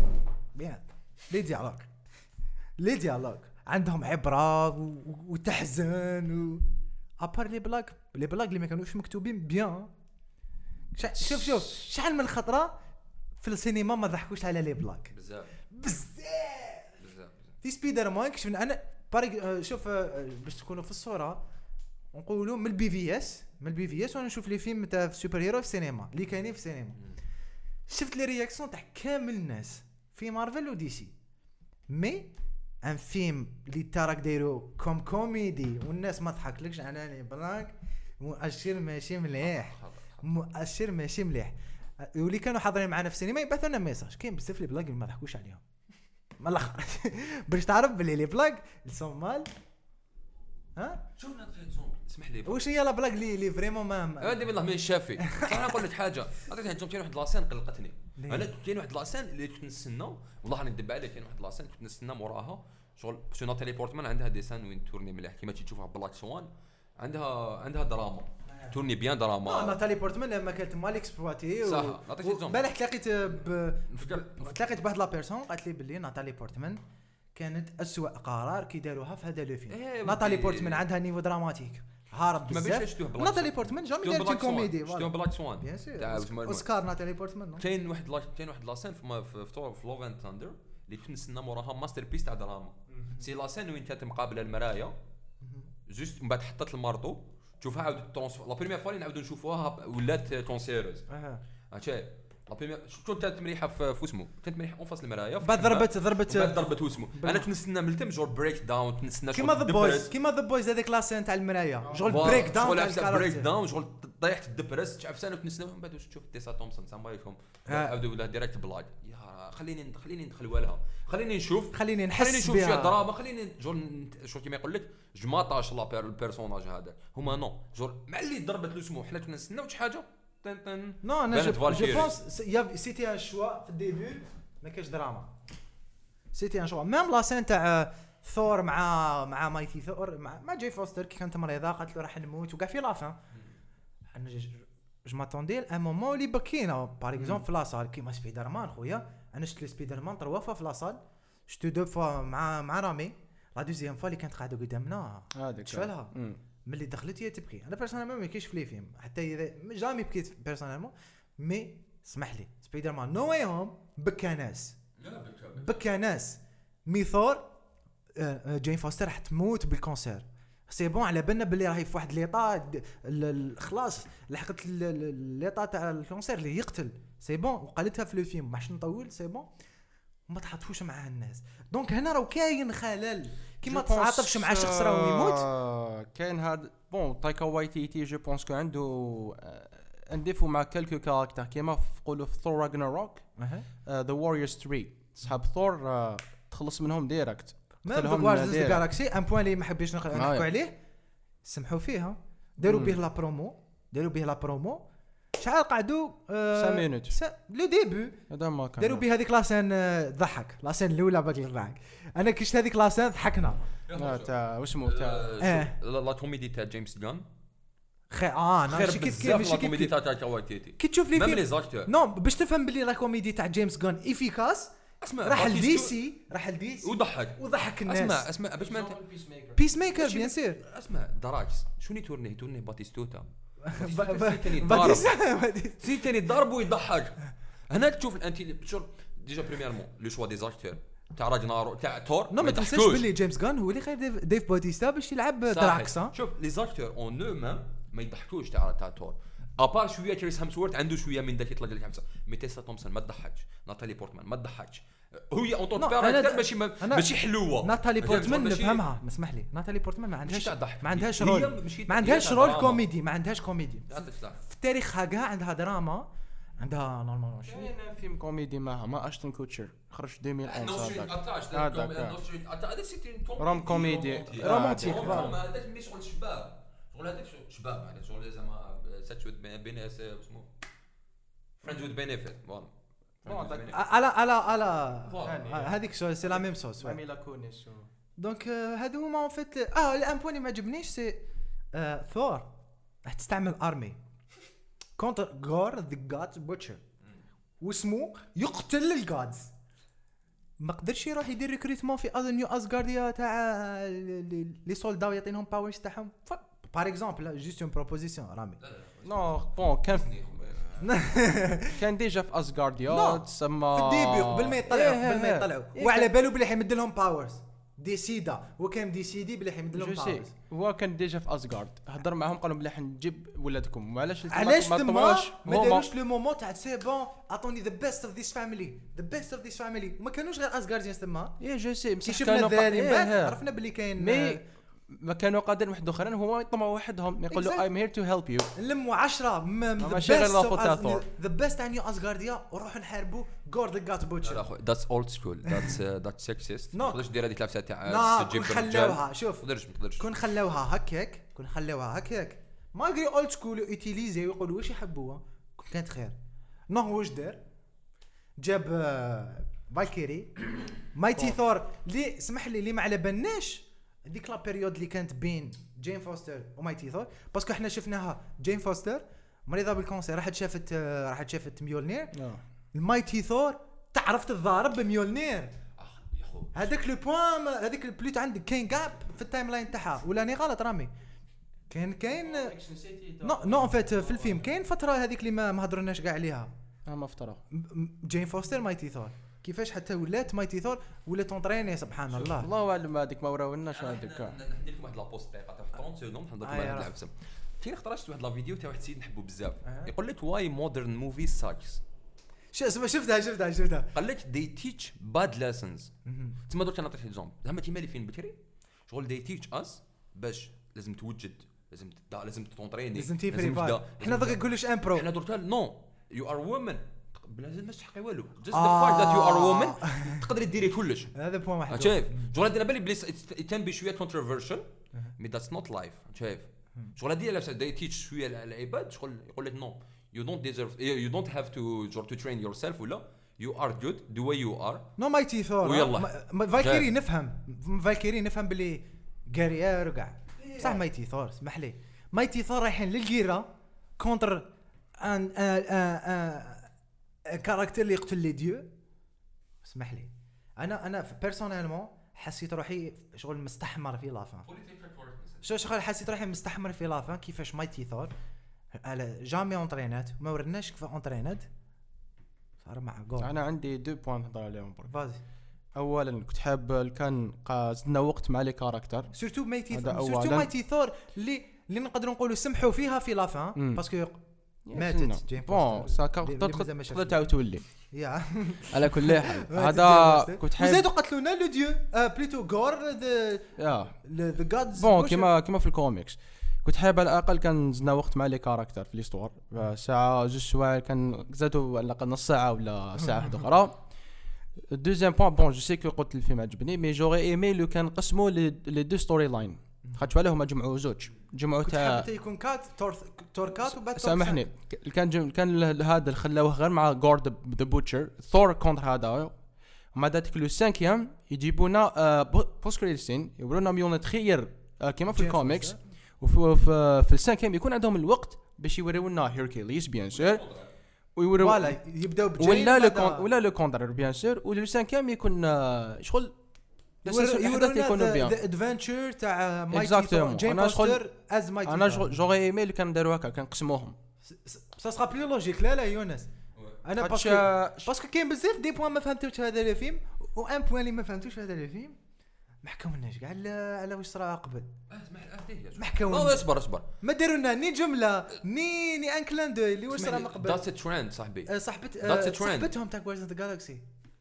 لي ديالوج عندهم عبره وتحزن ابار لي بلاك اللي ما كانوش مكتوبين بيان شوف شحال من خطره في السينما ما ضحكوش على لي بلاك بزاف في سبايدر مان كشفنا انا شوف باش تكونوا في الصوره نقولوا من البي في اس وانا نشوف لي فيلم تاع سوبر هيرو في السينما اللي كاينين في السينما شفت لي رياكسيون تاع كامل الناس في مارفل ودي سي مي ان فيلم اللي تراك دايرو كوميدي والناس ما ضحكلكش على لي بلاك مؤشر ماشي مليح واللي كانوا حاضرين معنا في السينما يبعثوا لنا ميساج كاين بزاف لي بلاك ما ضحكوش عليهم ما الاخر باش تعرف بلي لي بلاك الصومال شوفنا تخيل زومبي اسمح لي واش هي لا بلاك اللي فريمون ما هادي بالله من الشافي انا نقول لك حاجه عطيتني زومبي كاين واحد لاسين قلقتني انا كاين واحد لاسين اللي كنت نستنى والله راني ندب عليه كاين واحد لاسين كنت نستنى موراها شغل سو ناتالي بورتمان عندها ديسان وين تورني مليح كيما تشوفها بلاك سوان عندها دراما تورني بيان دراما ناتالي بورتمان لما كانت مال اكسبلواتي صح عطيتني زومبي بالك تلاقيت بواحد لا بيرسون قالت لي بلي ناتالي بورتمان كانت أسوأ قرار كي داروها في هذا لو فيلم ناتالي بورتمان عندها نيفو دراماتيك هارب بزاف ناتالي بورتمان جامي دارت كوميدي شفتو بلاك سوان بيان سور اوسكار ناتالي بورتمان كاين واحد لاسين في لوف اند ثاندر اللي كنت نستنى موراها ماستر بيس تاع دراما سي لاسين وين كانت مقابله المرايه جوست من بعد حطت المارطو تشوفها عاود لا بريمير فوا نعاودو نشوفوها ولات تونسيروز هادشي لا بريمير شفتو كانت مريحه في اسمه كانت مريحه اون فاس المرايه بعد ضربت اسمه انا كنستنى من التم جور بريك داون كنستنى كيما ذا بويز هذيك لاسين تاع المرايه جول بريك داون تاع الكاركتر بريك داون جول طيحت ديبرست تعرف سنه كنستنى من بعد واش تشوف تيسا تومسون السلام عليكم عاودوا ولا ديريكت بلاك يا خليني ندخل والها خليني نشوف نحس شي دراما خليني جول شو كيما يقول لك جماطاش لا البيرسوناج هذا هما نو جول مع اللي ضربت له اسمه حنا كنا نستناو شي حاجه نو انا جو بونس سيتي ان شوا في الديبي ما كاش دراما سيتي ان شوا ميم لا سين تاع ثور مع مايتي ثور مع جاي فوستر كي كانت مريضه قالت له راح نموت وكاع في لافان انا جو ماتوندي ان مومون اللي بكينا باغ اكزومبل في لاصال كيما سبايدر مان خويا انا شفت سبايدر مان 3 فوا في لاصال شفتو 2 فوا مع رامي لا دوزيام فوا اللي كانت قاعده قدامنا هذيك شفالها ملي دخلت هي تبكي انا بيرسونيلمون ما كاينش في لي فيلم حتى اذا جامي بكيت بيرسونيلمون مي اسمح لي سبايدر مان نو واي هوم بكى ناس ميثور جين فوستر راح تموت بالكونسير سي بون على بالنا باللي راهي في واحد ليطا خلاص لحقت ليطا تاع الكونسير اللي يقتل سي بون وقالتها في لو فيلم باش نطول سي بون وما تحطوش معاه الناس دونك هنا راه كاين خلل كيما تعاطفش مع شخص راه يموت كاين هاد بون تايكا وايتيتي جو بونس كو عنده انديفو مع كالكو كاركتر كيما نقولوا في ثور راغناروك ذا واريورز 3 صحاب ثور تخلص منهم ديريكت ميم جوارديانز دو جالاكسي ان بوين اللي ما حبيتش نحكوا عليه سمحوا فيها داروا به لا برومو شحال قعدوا 5 مينوت لو ديبي هذا ما كان داروا به هذيك لاسين ضحك لاسين الاولى باقي نضحك انا كشت هذيك لاسين ضحكنا تاع واسمو تاع لا كوميدي تاع جيمس جان انا ماشي كيف لا كوميدي تاع تايتي كي تشوف لي ميم فيلم لي زاكتور نو باش تفهم بلي لا كوميدي تاع جيمس جان افيكاس اسمع راح لدي سي وضحك الناس اسمع باش ما بيس ميكر بيان سير اسمع دراكس شوني تورني باتيستوتا سي تاني ضرب ويضحك هنا تشوف انت ديجا بريميرمون لو شوا دي زاكتور تاع راجنارو تاع تور ما تنساش بلي جيمس جان هو اللي خايف ديف باتيستا باش يلعب دراكس شوف لي زاكتور اون نو ما يضحكوش تاع تور ابار شويه كريس هامسورث عنده شويه من ذاك يطلق لك خمسه ميتيسا تومسون ما تضحكش ناتالي بورتمان ما تضحكش هي اون طون كاركتر ماشي حلوه ناتالي بورتمان نفهمها اسمح لي ناتالي بورتمان ما عندهاش رول كوميدي ما عندهاش كوميدي في تاريخها كاع عندها دراما عندها نورمالمون كاين فيلم كوميدي معها ما اشتون كوتشر خرج 2011 هذا سيتي روم كوميدي رومانتيك هذاك مش شغل شباب شغل هذاك شباب يعني شغل زعما ساتش وذ بينيس اسمه فريندز وذ بينيفيت على هذيك سي لا ميم سوس ميلا كونيس دونك هادو هما اون فيت الان بوين ما عجبنيش سي ثور راح تستعمل ارمي كونتر غور ذا جادز بوتشر واسمو يقتل الجادز ما قدرش يروح يدير ريكروتمون في نيو اسغارديا تاع لي سولداو يعطينهم باورز تاعهم بار اكزومبل جوست اون بروبوزيسيون رامي نو بون كان ديجا في اسغارديا تسمى في الديبي قبل ما يطلعوا وعلى بالو بلي حيمد لهم باورز ديسيدا وكان ديسيدي بلي حيمد لهم باورز هو كان ديجا في اسغارد هضر معاهم قالوا بلي حنجيب ولادكم وعلاش ما داروش لو مومون تاع سي بون اعطوني ذا بيست اوف ذيس فاميلي وما كانوش غير اسغارديان تما جو سي كي شفنا الذاري عرفنا بلي كاين ما كانوا قادرين واحد اخرين هما يطمعوا وحدهم يقولوا I'm here to help you نلموا 10 ماشي غير لافو تاع ثور ذا بيست تاع نيو اسغارديا وروحوا نحاربوا جورد جات بوتشر ذاتس اولد سكول ذاتس سكسيست ما تقدرش دير هذيك لابسه تاع تجيب خلوها شوف ما تقدرش كون خلوها هكاك ما غير اولد سكول يوتيليزي ويقولوا واش يحبوها كانت خير نو واش دار جاب فالكيري مايتي ثور اللي سمح لي اللي ما على بالناش ديك لا بيريود اللي كانت بين جين فوستر ومايتي ثور باسكو احنا شفناها جين فوستر مريضه بالكونسير راحت شافت ميولنير المايتي ثور تعرف تضارب بميولنير هذاك لو بوين هذيك البلوت عندك كاين جاب في التايم لاين تاعها ولا اني غلط رامي كاين نو ان فيت في الفيلم كاين فتره هذيك اللي ما هضرناش كاع عليها ما فتره جين فوستر مايتي ثور كيفاش حتى ولات مايتي ثور ولات اونطريني سبحان الله اعلم هذيك ما وراولناش هذيك ندير لكم واحد لابوست دقيقه تاع 30 سكوند نهضر لكم على العفسه كاين خطرات واحد لا فيديو تاع واحد السيد نحبو بزاف يقول لك واي مودرن موفي ساكس شفتها قال لك they teach bad lessons تما درت نعطيك اكزامبل زعما كيما لي فين بكري شغل they teach us باش لازم توجد لازم تونطريني لازم تبريبار حنا دغيا نقولوش ان برو حنا درت نو يو ار وومن بلازم ما تحقي والو just the fact that you are a woman تقدري ديري كلش هذا بوين واحد شايف شغل هذا بالي بليس يتم بشويه controversial مي that's not life شايف شغل هذه لابسه داي تيتش شويه العباد شغل يقول لك نو you don't deserve you don't have to train yourself ولا you are good the way you are نو مايتي ثور فالكيري نفهم باللي غاريير وكاع صح مايتي ثور اسمح لي مايتي ثور رايحين للجيره كونتر ان كاركتر اللي يقتل لي ديو اسمح لي انا بيرسونيلمون حسيت روحي شغل مستحمر في لافان شغل حسيت روحي مستحمر في لافان كيفاش مايتي ثور على جامي اونطرينات ما ورناش كيف اونطرينات صار مع جول انا عندي 2 بوين نهضر عليهم فازي اولا كنت حاب كان زدنا وقت مع لي كاركتر سورتو مايتي ثور اللي نقدروا نقولوا سمحوا فيها في لافان باسكو ماتت جين بون تقدر تعاود تولي يا على كل حال هذا كنت حاب زادوا قتلونا لو ديو بليتو غور ذا جادز بون كيما في الكوميكس كنت حاب على الاقل كان زدنا وقت مع لي كاركتر في ليستوار ساعه 2 سوايع كان زادوا على الاقل نص ساعه ولا ساعه واحده اخرى Deuxième point, bon, je sais que قلت الفيلم عجبني, mais j'aurais aimé لو كان قسموا les deux storylines. خاطر على هما جمعوا زوج, جمعوا تاع يكون كات تور كات وبعد سامحني, كان هذا اللي خلاوه غير مع جورد ذا بوتشر, ثور كونتر هذا, ومع ذلك لو سانكيام يجيبونا بوست كريدت سين, يورونا ميون تخير كيما في الكوميكس, وفي السانكيام يكون عندهم الوقت باش يورونا هيركليس بيان سور, ويورو ولا يبداو بجين ولا لو كونتر بيان سور, ولو سانكيام يكون شغل يورونا ذا ادفنتشر تاع مايكل جيم فوستر از مايكل. انا جوغي ايمي اللي كان داروا هكا, كان قسموهم سا سرا بلي لوجيك. لا يونس, انا باسكو كاين بزاف دي بوين ما فهمتوش هذا الفيلم, و ان بوين اللي ما فهمتوش في هذا الفيلم ما حكاولناش كاع على واش صرا قبل. ما حكاولناش. اصبر ما داروا لنا ني جمله ني ان كلان دو اللي واش صرا من قبل. ذاتس ترند صاحبي, صاحبتهم تاع جوارديانز ذا جالاكسي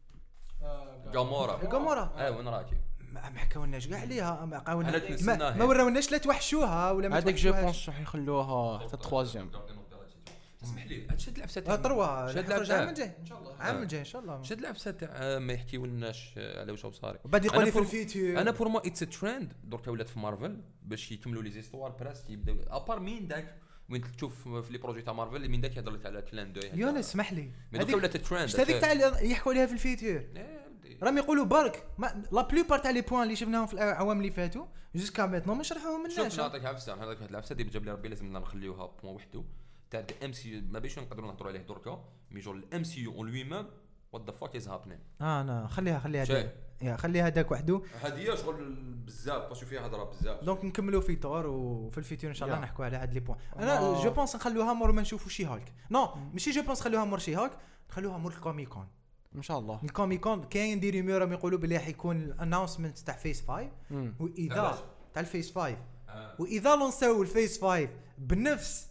غامورا. وين راكي؟ ما حكاولناش كاع عليها, ما وراوناش لا توحشوها ولا ما هذاك جو بونس راح يخلوها حتى الثوازيام. اسمح لي, هاد شد العفسه تاع العام الجاي ان شاء الله, العام الجاي ان شاء الله. شد العفسه تاع ما يحكيولناش على واش صاري. بعد يقول لي في الفيتور. انا بور مو اتس ترند درك ولات في مارفل باش يكملوا لي زيستوار براس يبداو ابار مين داك وين تشوف في لي بروجي تاع مارفل من داك يهضر لك على كلان دو. يونس اسمح لي, هذيك ولات ترند. هذيك تاع يحكوا عليها في الفيتور راهم يقولوا برك لا بلوبار تاع لي بوين اللي شفناهم في الاعوام اللي فاتوا جوسكا ميتنو ما شرحوهم لناش. شوف نعطيك عفسه, هذاك العفسه دي جاب لي ربي لازم نخليوها بوين وحده تاع ام سي, ما باش نقدروا نهضروا عليه دركا مي جور الام سي يو اون لوي ميم وات ذا فاك از هابينين. انا خليها داك وحده, هذه شغل بزاف باسكو فيها هضره بزاف. دونك نكملوا في طور وفي الفيتور ان شاء الله نحكوا على هاد لي بوين. انا جو بونس نخلوها مور ما نشوفوا شي هالك. نو ماشي جو بونس خلوها مور شي هالك, نخلوها مور الكوميكون ان شاء الله. الكوميكون كاين دي ريمور راهم يقولوا بلي راح يكون الاناونسمنت تاع فيس 5, واذا تاع الفيس 5 واذا لونساو الفيس 5 بنفس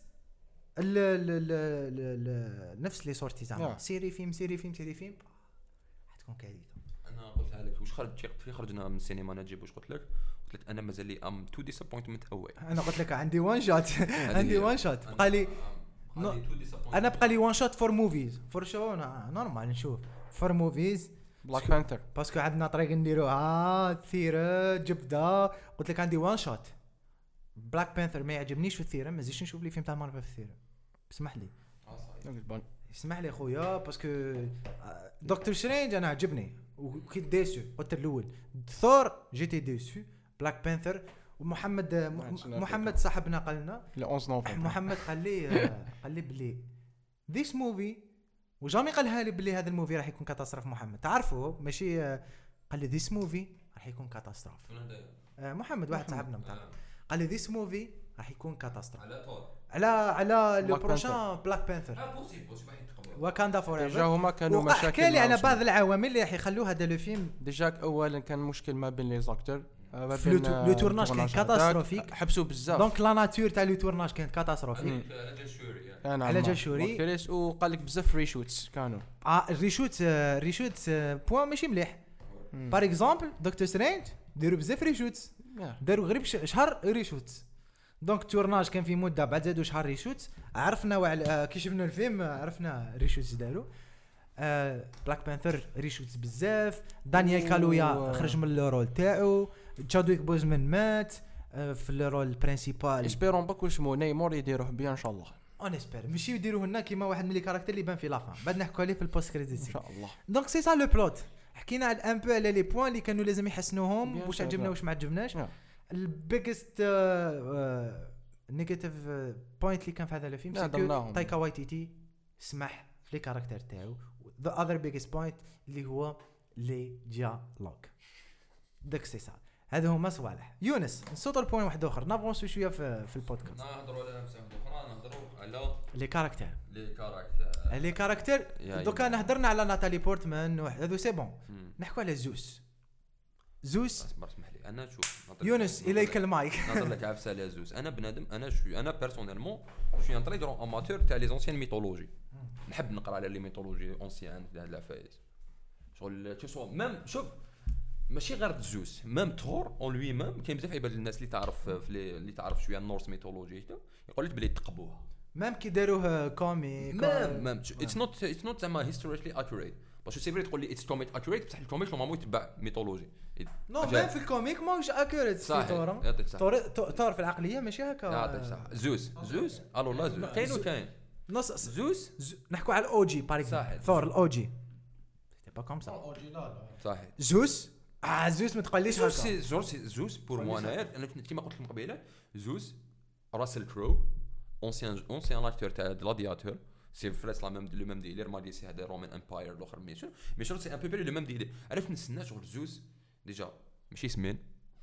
نفس لي سورتي زعما سيري فيلم حتكون كارثه. انا قلتها لك واش خرجنا من السينما نجيب واش قلت لك انا مازال لي ام تو ديسابوينتمنت اواي. انا قلت لك عندي وان شوت بقى لي انا بقى لي وان شوت فور موفيز فور شو نورمال نشوف فور موفيز بلاك بانثر باسكو عندنا طريق نديروها ثيره جبده. قلت لك عندي وان شوت بلاك بانثر ما يعجبنيش في الثيره, ما زيدش نشوف لي فيلم تاع مارفل في الثيره. اسمح لي خويا باسكو دكتور سترينج انا عجبني وكنت ديسو. قلت الاول ثور جيتي ديسو, بلاك بانثر محمد صاحبنا قال لنا 11 نوفمبر محمد قال لي بلي ذيس موفي وجامي قالها لي بلي هذا الموفي راح يكون كاتاستروف. محمد تعرفه ماشي قال لي ذيس موفي راح يكون كاتاستروف. محمد واحد صاحبنا متعرف قال لي ذيس موفي راح يكون كاتاستروف على لو بروشان بلاك بانثر وكاندا فور ديجا هما كانوا مشاكل. حكى لي على بعض العوامل اللي راح يخلوا هذا لو فيلم. ديجا اولا كان مشكل ما بين لي زاكتور, لو تورناج كان كاتاستروفيك, حبسوا بزاف. دونك لا ناتور تاع لو تورناج كانت كاتاستروفيك على جال شوري, وقال لك بزاف ريشوتس كانوا ريشوتس بوين ماشي مليح. بار اكزومبل دكتور سترينج داروا بزاف ريشوتس, داروا غريب شهر ريشوتس. دونك تورناج كان في مده بعد زادوا شهر ريشوتس. عرفنا كي شفنا الفيلم عرفنا ريشوتس داروا. بلاك بانثر ريشوتس بزاف. دانيال كالويا خرج من الرول تاعو. تشادويك بوزمان مات في الرول البرينسيبال. اسبيرون باكو اسمو نيمور يديروه بيان ان شاء الله. اون اسبير ماشي يديروه لنا كيما واحد من لي كاركتير اللي بان في لافان بعد نحكوا عليه في البوست كريديت ان شاء الله. دونك سي سا لو بلوت. حكينا على ان بو على لي بوين اللي كانوا لازم يحسنوهم واش عجبنا واش ما عجبناش. البيجست نيجاتيف بوينت اللي كان في هذا الفيلم سكو تايكا وايتيتي سمح في لي كاركتير تاعو. ذا اذر بيجست بوينت اللي هو لي ديالوغ داك سي سا. هذا هما صوالح. يونس نصوت البوين واحد اخر نافونسو شويه في البودكاست. نهضروا على نفس اخرى, نهضروا على لي كاركتير دوكا نهضرنا على ناتالي بورتمان هذو سي بون. نحكوا على زوس اسمح لي انا شوف يونس اليك المايك. نهضر لك عفسه على زوس. انا بنادم انا بيرسونيلمون شوي ان تري غران اماتور تاع لي زونسيان ميثولوجي. نحب نقرا على لي ميثولوجي اونسيان تاع العفايس شغل تشوف ميم. شوف ماشي غير زوس ميم ثور اون لوي ميم كاين بزاف عباد الناس اللي تعرف اللي تعرف شويه النورس ميثولوجي يقول لك بلي تقبوها ميم كي داروه كوميك ميم اتس نوت زعما هيستوريكلي اكوريت باش سي فري تقول لي اتس كوميك اكوريت بصح الكوميك نورمالمون يتبع ميثولوجي نو ميم في الكوميك ماهوش اكوريت صح ثور يعطيك صح ثور في العقليه ماشي هكا يعطيك صح زوس الو لا زوس كاين وكاين نص زوس نحكوا على الاو جي بار صحيح. اكزومبل ثور الاو جي سيتي با كوم سا صحيح زوس زوس ما تقوليش هكا زوس بور مو انا كيما قلت لكم قبيله زوس راسل كرو اونسيان اكتور تاع غلادياتور سي فريس لا ميم لو ميم ديلير ما سي هذا رومان امباير الاخر مي شنو سي ان بو بري لو ميم ديلير عرفت نستنى شغل زوس ديجا ماشي سمين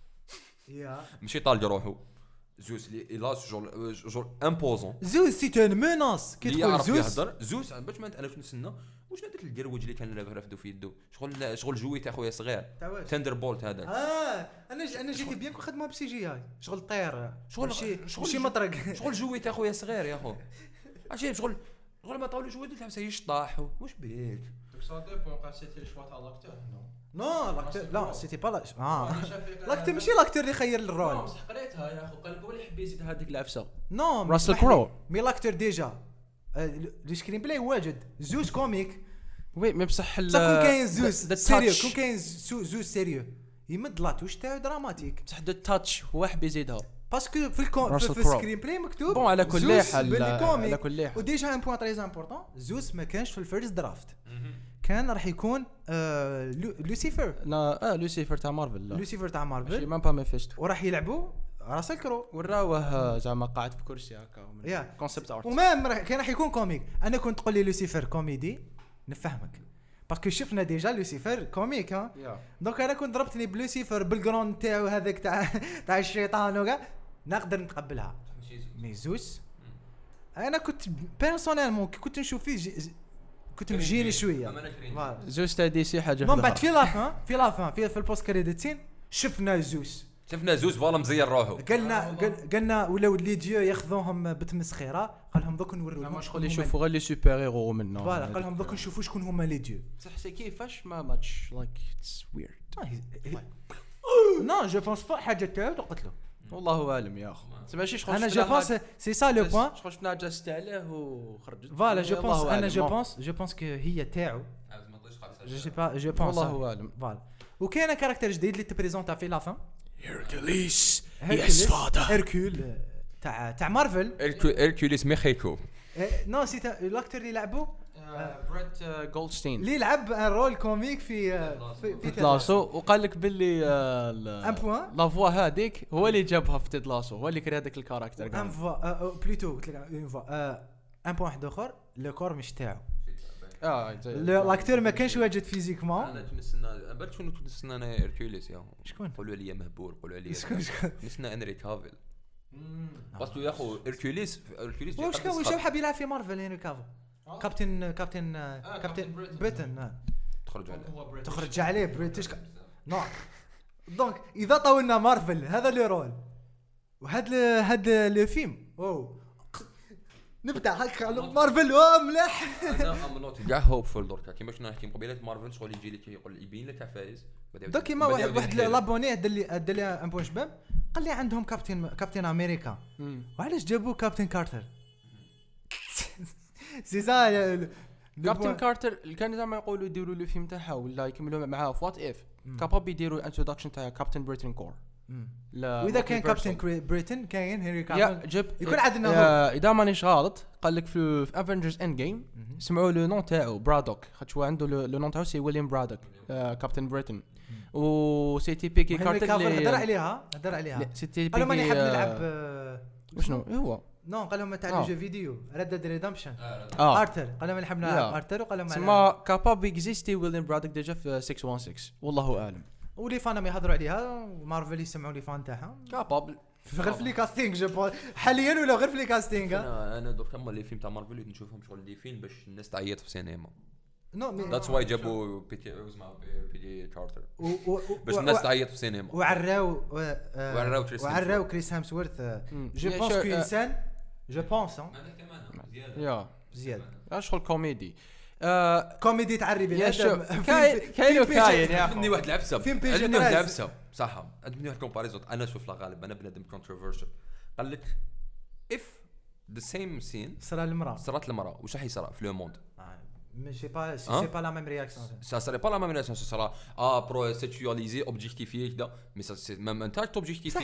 يا ماشي طالق روحو زوس لي لا جور امبوزون زوس سي ان ميناس كي تقول زوس يهضر زوس باش ما انا كنت نستنى واش هذاك القروج اللي كان رافدو في يدو شغل جوي تاع خويا صغير تندر بولت هذاك انا جيت بيان كون خدمه بسي جي اي شغل طير شغل شي مطرق شغل جوي تاع خويا صغير يا خو عجيب شغل ما طاولو جوي تاع يشطاح واش بيك دونك سا ديبون قال سيتي الشوا تاع لاكتور نو لاكتور لا سيتي با لاكتور ماشي لاكتور اللي خير الرول بصح قريتها يا اخو قال لك هو اللي يحب يزيد هذيك العفسه نو راسل كرو مي لاكتور ديجا لو سكرين بلاي واجد زوس كوميك وي مي بصح كون كاين زوس سيريو كون كاين زوس سيريو يمد لاتوش تاعو دراماتيك بصح دو تاتش هو حب يزيدها باسكو في السكرين بلاي مكتوب بون على كل حال على كل حال وديجا ان بوين تري امبورطون زوس ما كانش في الفيرست درافت كان راح يكون لوسيفر لا لوسيفر تاع مارفل لوسيفر تاع ماشي مارفل مام با ميفيستو وراح يلعبوا راسل كرو وراوه زعما قاعد في كرسي هكا كونسيبت ارت ومام كان راح يكون كوميك انا كنت تقول لي لوسيفر كوميدي نفهمك باسكو شفنا ديجا لوسيفر كوميك ها دونك انا كنت ضربتني بلوسيفر بالجراوند تاعو هذاك تاع الشيطان وكاع نقدر نتقبلها مي زوس انا كنت بيرسونيلمون كنت نشوف فيه كنت مجيني شويه زوس تاع دي سي حاجه من بعد في لافان في البوست كريديتين شفنا زوس فوالا مزير روحو قلنا ولاو لي ديو ياخذوهم بتمسخيره قال لهم دوك نوريو لهم شغل يشوفوا غير لي سوبر هيرو منهم فوالا قال لهم دوك نشوفوا شكون هما لي ديو صح سي كيفاش ما ماتش لايك اتس ويرد نو جو بونس با حاجه تاعو قلت له والله اعلم يا اخو ماشي شغل انا جو بونس سي سا لو بوين شغل شفنا جاست عليه وخرجت فوالا جو بونس انا جو بونس كو هي تاعو جو سي با جو بونس والله اعلم فوالا وكاين كاركتر جديد اللي تبريزونتا في لافان هيركوليس يس فاذر هيركول تاع مارفل هيركوليس ميخيكو نو سي لاكتور اللي لعبوا بريت جولدستين اللي لعب رول كوميك في لاسو وقال لك باللي ان بوين لا فوا هذيك هو اللي جابها في تيد لاسو هو اللي كري هذاك الكاركتر ان فوا بلوتو قلت لك اون فوا ان بوين واحد اخر لو كور مش تاعو لاكتور ما كانش واجد فيزيكمون انا نستنى بالك شنو نستنى انا هيركوليس يا شكون قولوا لي مهبول قولوا لي شكون نستنى انري كافيل باسكو يا خو هيركوليس واش حاب يلعب في مارفل هنا كافو كابتن بريتن تخرج عليه بريتش نو دونك اذا طولنا مارفل هذا لو رول وهذا لو فيلم نبدا هكا على مارفل ملاح انا ام نوت كاع هوبفول دركا كيما شفنا نحكي مقبله مارفل شغل يجي لك يقول يبين لك تاع فايز دوك كيما واحد لابوني دار لي ان بوين شباب قال لي عندهم كابتن امريكا وعلاش جابوا كابتن كارتر سي سا كابتن كارتر كان زعما يقولوا يديروا لو فيلم تاعها ولا يكملوا معاه في وات اف كاباب يديروا انتروداكشن تاع كابتن بريتن كور لا واذا كان كابتن بريتن كاين هنري كابل يكون عندنا اذا مانيش غلط قال لك في افنجرز اند جيم سمعوا لو نون تاعو برادوك خاطر عنده لو نون تاعو سي ويليام برادوك كابتن بريتن و سي تي بي كي كارتر اللي هدر عليها سي تي بي قالوا ماني حاب نلعب وشنو هو نو قال لهم تاع جو فيديو ريد ديد ريدمشن ارثر قال لهم نحب نلعب ارثر وقال لهم ما كاباب اكزيستي ويليام برادوك ديجا في 616 والله اعلم ولي فانا يهضروا عليها مارفل يسمعوا لي فان تاعها كاباب غير في لي كاستينغ جو حاليا ولا غير في لي كاستينغ انا درك هما لي فيلم تاع مارفل نشوفهم شغل لي فيلم باش الناس تعيط في السينما نو ذاتس واي جابوا بيتي كارتر باش الناس تعيط في السينما وعراو كريس هامسورث جو بونس كو انسان جو بونس يا زياد شغل كوميدي كوميدي تعري بنادم كاين يا عندي واحد العبسه صح عندي واحد كومباريزون انا شوف لا غالب انا بنادم كونتروفيرشل قال لك اف ذا سيم سين صرا المراه صرات المراه واش راح يصرى في لو موند mais c'est pas la même réaction. Ça serait pas la même réaction, ça sera pro-sexualisé, objectifié كذا, mais ça c'est même un tâche objectifié.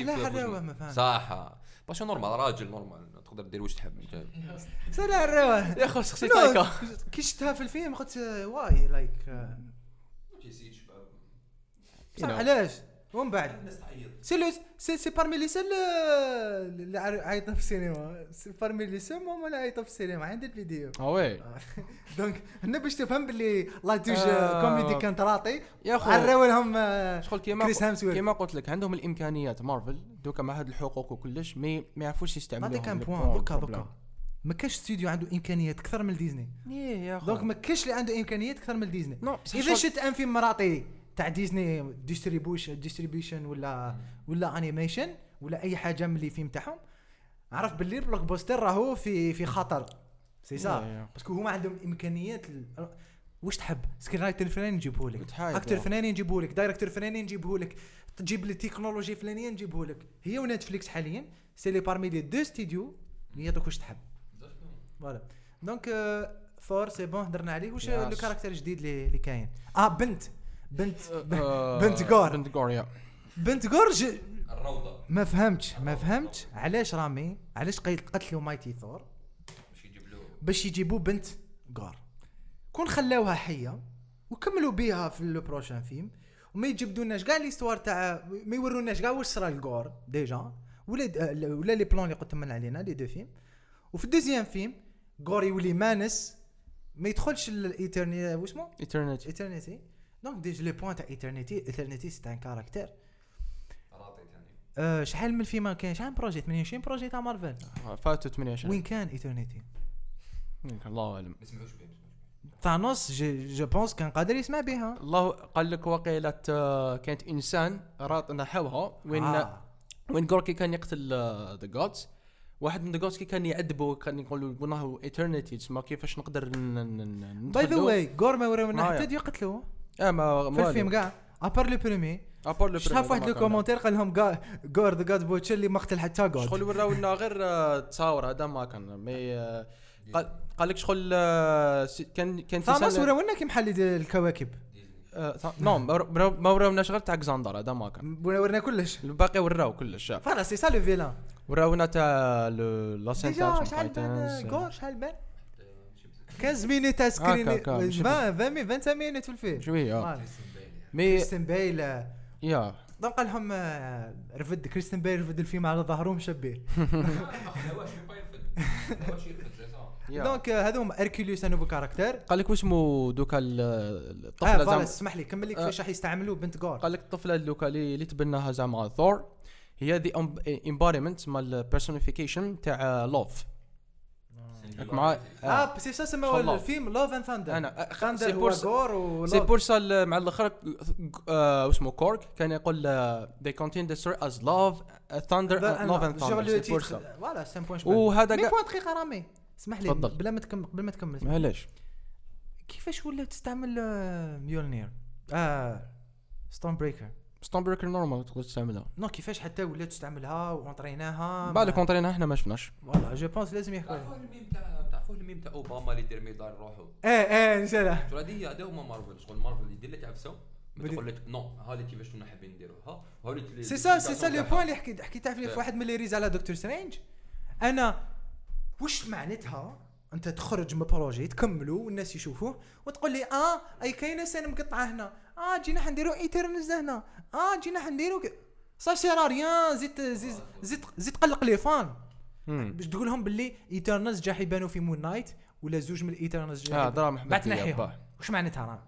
صح باش نورمال راجل نورمال تقدر دير واش تحب انت. سلا الروح يا خو شخصي تايكا كي شفتها في الفيلم قلت واي لايك تيسيت شباب علاش ومن بعد سي بارمي لي سول اللي عيطنا في السينما, سي بارمي لي سول ماما اللي عيطوا في السينما عند الفيديو. وي دونك هنا باش تفهم باللي لا توج كوميدي كانت راطي يا خو عراو لهم شغل كيما قلت لك عندهم الامكانيات مارفل دوكا مع هاد الحقوق وكلش ما يعرفوش يستعملوها. هذا كان بوين دوكا ما كاش استوديو عنده امكانيات اكثر من ديزني. يا خو دونك ما كاش اللي عنده امكانيات اكثر من ديزني. اذا شغل... شفت ان فيلم مراطي تاع ديزني ديستريبيوشن ولا انيميشن ولا اي حاجه من اللي فيلم تاعهم, عرف باللي البلوك بوستر راهو في خطر. سي سا باسكو هما عندهم امكانيات واش تحب سكرين رايتر فلاني نجيبه لك, اكتر فلاني نجيبه لك, دايركتور فلاني نجيبه لك, تجيب لي تكنولوجي فلانيه نجيبه لك. هي ونتفليكس حاليا سي لي بارمي لي دو ستوديو اللي يعطوك واش تحب. فوالا دونك ثور سي بون هضرنا عليه. واش لو كاركتير الجديد اللي كاين بنت غور يا بنت غور الروضه. ما فهمتش علاش رامي علاش قتلوا مايتي ثور باش يجيبوا بنت غور. كون خلاوها حيه وكملوا بها في لو بروشان فيلم وما يجبدوناش كاع ليستوار تاع ما يوروناش كاع واش صرا لغور ديجا ولا لي بلان اللي قلت من علينا لي دو فيلم. وفي الدوزيام فيلم غور يولي مانس ما يدخلش الايترني واسمو ايترنيتي. دونك ديج لي بوين تاع ايترنيتي سي ان كاركتير راطي ثاني. شحال من الفيلم كاين شحال بروجي 28 بروجي تاع مارفل فاتوا 28 وين كان ايترنيتي الله اعلم. ما سمعوش بهم ثانوس جو بونس كان قادر يسمع بها. الله قال لك وقيله كانت انسان راط نحوها وين غوركي كان يقتل ذا جودز. واحد من ذا جودز كان يعذبه كان يقولوا بناه ايترنيتي تسمى كيفاش نقدر باي ذا واي غور ما وراونا حتى يقتلوه ما في الفيلم كاع ابار لو بريمي شاف واحد لو كومونتير قال لهم غور ذا جاد بوتشر اللي ما قتل حتى غود. شغل وراونا غير تصاور هذا ما كان مي قال لك شغل كان ثانوس وراونا كي محل الكواكب. نو ما وراوناش غير تاع اكزاندر هذا ما كان ورنا كلش الباقي وراو كلش. فوالا سي سا لو فيلان وراونا تاع لا سنتر شحال بان غور شحال بان 15 مينوت تاع سكرين 20 مينوت في الفيلم شويه مي كريستن بيل يا دونك قال لهم رفد كريستن بيل رفد الفيلم على ظهره مشبه. دونك هذوم اركيليوس نوفو كاركتير. قال لك واسمو دوكا الطفله زعما اسمح لي كمل لك كيفاش راح يستعملوا بنت غور. قال لك الطفله دوكا اللي تبناها زعما ثور هي دي امباريمنت مال بيرسونيفيكيشن تاع لوف مع سي سا سموا الفيلم لوف اند ثاندر. انا ثاندر هو غور و سي بور سا مع الاخر اسمه كورك كان يقول they contain the story as love thunder love and thunder. فوالا سي بوين وهذا مي بوين دقيقه رامي اسمح لي بلا ما تكمل معليش. كيفاش ولا تستعمل ميولنير ستون بريكر نورمال تقدر تستعملها. نو كيفاش حتى ولا تستعملها وانطريناها بالك انطريناها احنا ما شفناش. فوالا جو بونس لازم يحكوا تعرفوا الميم تاع اوباما اللي يدير ميدان روحو. نساله شو هذه هما مارفل. شغل مارفل يدير لك عفسه يقول لك نو هذه كيفاش كنا حابين نديروها وهذه سي سا لو بوين اللي حكيت فيه في واحد من لي ريز على دكتور سترينج. انا واش معناتها انت تخرج من بروجي تكملوا والناس يشوفوه وتقول لي اي كاينه سنه مقطعه هنا جينا حنديروا ايترنز هنا جينا حنديروا صا سير ريان زيد قلق لي فان باش تقول لهم باللي ايترنز جا يبانوا في مون نايت ولا زوج من الايترنز جا بعد تنحيهم. واش معناتها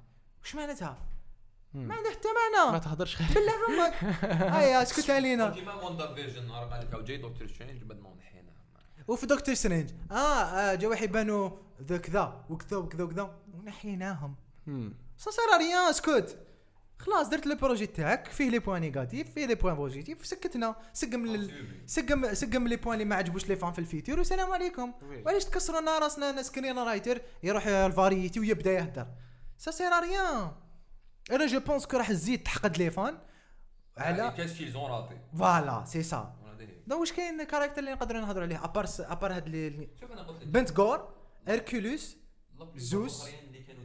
ما عنده حتى معنى. ما تهضرش خير بالله فمك اسكت علينا كيما وندر فيجن عرف قال لك جاي دكتور سترينج بعد ما نحينا. وفي دكتور سترينج جا واحد يبانوا كذا وكذا ونحيناهم. صار ريان اسكت خلاص درت لو بروجي تاعك فيه لي بوين نيجاتيف فيه لي بوين بوزيتيف سكتنا سقم لي بوين اللي ما عجبوش لي فان في الفيتور والسلام عليكم. وعلاش تكسروا لنا راسنا سكرين رايتر يروح الفاريتي ويبدا يهدر سا ريان. انا جو بونس كو راح تزيد تحقد لي فان على كاش زون راطي. فوالا سي سا. دونك واش كاين كاركتر اللي نقدروا نهضروا عليه ابار هاد بنت غور اركيلوس زوس اللي كان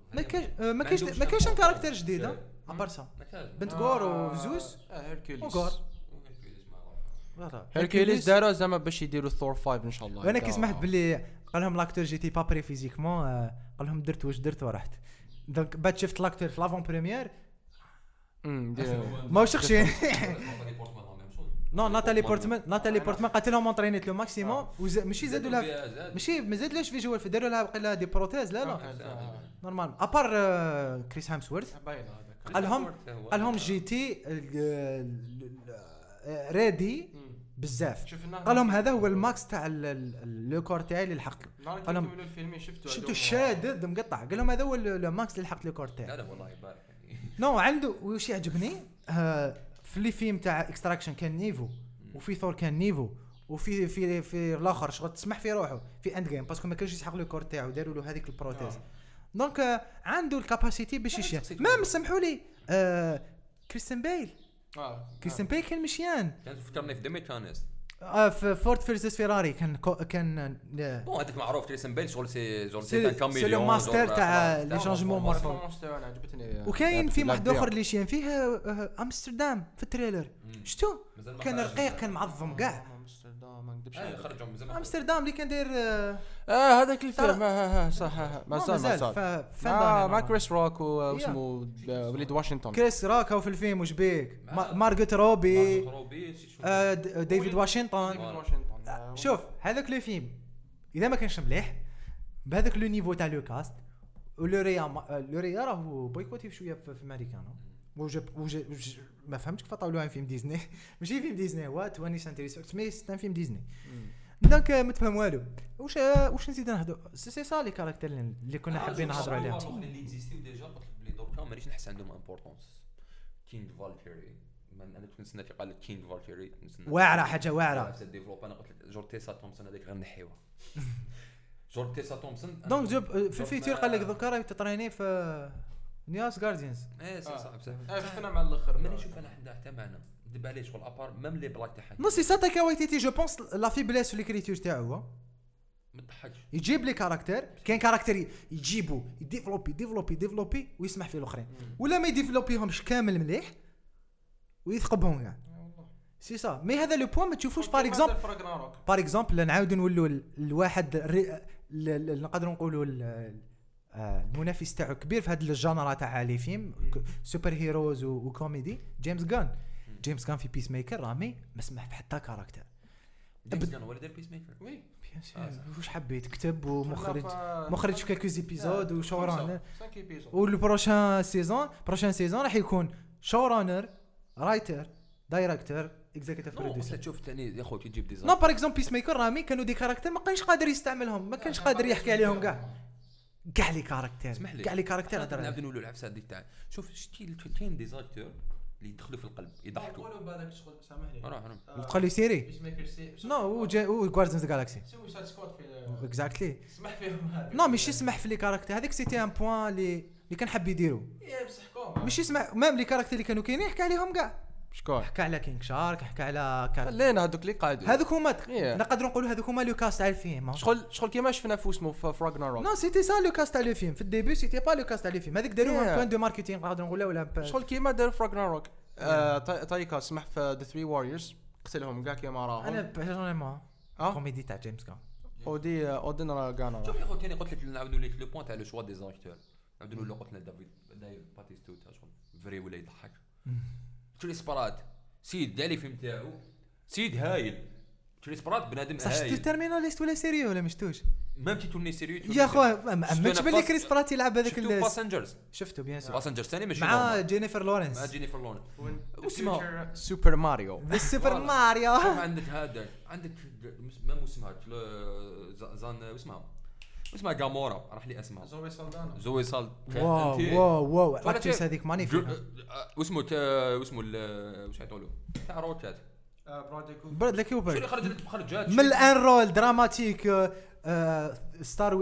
ما كاينش كاركتر جديد ابارسا بنت غور وزوس هيركوليس وغور فوالا هيركوليس داروا زعما باش يديروا ثور 5 ان شاء الله. وانا كي سمعت باللي قال لهم لاكتور جيتي با بري فيزيكمون قال لهم درت واش درت ورحت دونك بعد شفت لاكتور في لافون بريمير ما وشخشي نو ناتالي بورتمان قالت لهم اونطرينيت لو ماكسيموم ماشي زادوا لها ماشي ما زادلهاش في جوال داروا لها بقى لها دي بروتيز لا نورمال ابار كريس هامسورث قال لهم جيتي ريدي بزاف قال لهم هذا هو الماكس تاع لو كور تاعي اللي لحقت قال لهم الفيلم شفتو شادد مقطع قال لهم هذا هو الماكس اللي لحقت لو كور تاعي. لا والله يبارك نو عنده وش يعجبني في اللي فيلم تاع اكستراكشن كان نيفو وفي ثور كان نيفو وفي في الاخر شغل تسمح في روحه في اند جيم باسكو ما كانش يسحق له كور تاعو داروا له هذيك البروتيز دونك عنده الكاباسيتي باش يشيا ما سمحوا لي كريستيان بيل كان مشيان كان فكرني في ديمي كانست في فورد فيرسس فيراري كان بون هذاك معروف كريستيان بيل شغل سي كاميليون سي لو ماستر تاع لي شانجمون مارفل انا عجبتني. وكاين في واحد اخر اللي شيان فيه امستردام في التريلر شفتو كان رقيق كان معظم كاع امستردام ما نكذبش خرجوا من زمان امستردام اللي كان داير هذاك الفيلم صح مازال مع كريس روك واسمه وليد واشنطن كريس روك وفي الفيلم وش بيك مارغوت روبي ديفيد واشنطن شوف هذاك لو فيلم اذا ما كانش مليح بهذاك لو نيفو تاع لو كاست لوريا راهو بويكوتي شويه في امريكانو وجا ما فهمتش كيف طاولوها فيلم ديزني ماشي فيلم ديزني هو 20 سنتري سمي فيلم ديزني دونك ما تفهم والو واش نزيد نهضر سي سا لي كاركتير اللي كنا حابين نهضروا عليهم اللي اكزيستيو ديجا قلت لي دركا مانيش نحس عندهم امبورطونس كينغ فالكيري انا كنت نستنى قال لك كينغ فالكيري واعره حاجه واعره في الديفلوب انا قلت لك جورتيسا تومسون هذيك غير نحيوها جورتيسا تومسون دونك جاب في الفيتور قال لك ذكر راهي تطريني في نياس جارديانز ايه صعب شفتنا مع الاخر ماني نشوف انا حتى معنا دب عليه شغل ابار ميم لي بلاك تاعها نصي ساتاكا وايتيتي جو بونس لا فيبليس في ليكريتور تاعو ما تضحكش يجيب لي كاركتير كاين كاركتير يجيبو يديفلوبي ويسمح فيه الاخرين ولا ما يديفلوبيهمش كامل مليح ويثقبهم كاع سي سا مي هذا لو بوين ما تشوفوش بار اكزومبل نعاودو نولوا الواحد نقدروا نقولوا المنافس تاعو كبير في هذا الجانرا تاع لي فيلم سوبر هيروز وكوميدي جيمس غان في بيس ميكر رامي ما سمح حتى كاركتر جيمس غان هو اللي دار بيس ميكر وي بيان سور واش حبيت كتب ومخرج في كالكوز ايبيزود وشورانر والبروشان سيزون راح يكون شورانر رايتر دايركتور اكزيكتيف بروديوسر تشوف ثاني يا خويا تجيب ديزاين نو بار اكزومبل بيس ميكر رامي كانوا دي كاركتر ما كانش قادر يستعملهم ما كانش قادر يحكي عليهم كاع لي كاركتر هذا نبدا نقولوا العفسه دي تاع شوف شتي كاين دي زاكتور اللي يدخلوا في القلب يضحكوا قولوا بالك شغل سامحني تقول لي سيري بيس ميكر سي نو و جاردينز جالاكسي سوي سايد سكواد في اكزاكتلي سمح فيهم هذا نو ماشي سمح في لي كاركتر هذيك سيتي ان بوين اللي كان حاب يديروا بصح كوم ماشي سمح ميم لي كاركتر اللي كانوا كاينين يحكي عليهم كاع شكون حكى على كينغ شارك حكى على خلينا هذوك اللي قاعدين هذوك هما نقدروا نقولوا هذوك هما لو كاست تاع الفيلم شغل كيما شفنا في اسمه في راغناروك نو سيتي سا لو كاست تاع لو فيلم في الديبي سيتي با لو كاست تاع لو فيلم هذيك داروها بوين دو ماركتينغ نقدروا نقولوا ولا شغل كيما داروا في راغناروك تايكا سمح في ذا 3 واريورز قتلهم كاع كيما راهم انا بيرسونيلمون كوميدي تاع جيمس كان ودي اودن راغانا شوف يا خويا ثاني قلت لك نعاودوا لك لو بوين تاع لو شوا دي زاكتور نعاودوا له قلت لنا دافيد باتيستو تاع شغل فري ولا يضحك كريس برات سيد دالي فيلم تاعو سيد هايل كريس برات بنادم هايل شفت تيرميناليست ولا سيريو ولا مشتوش ما توني سيريو يا خويا ما تبان لي كريس برات يلعب هذاك باسنجرز شفتو بيان سور باسنجرز ثاني ماشي مع جينيفر لورنس اسمها سوبر ماريو بالسوبر ماريو عندك هذا عندك ما اسمها زان اسمها جامورا راح لي اسمها زوي سالدانا واو الاكتريس هذيك مانيفيك واسمه واش يقولوا تاع روكات برادلي كوبر شو اللي خرجت من الان رول دراماتيك ستار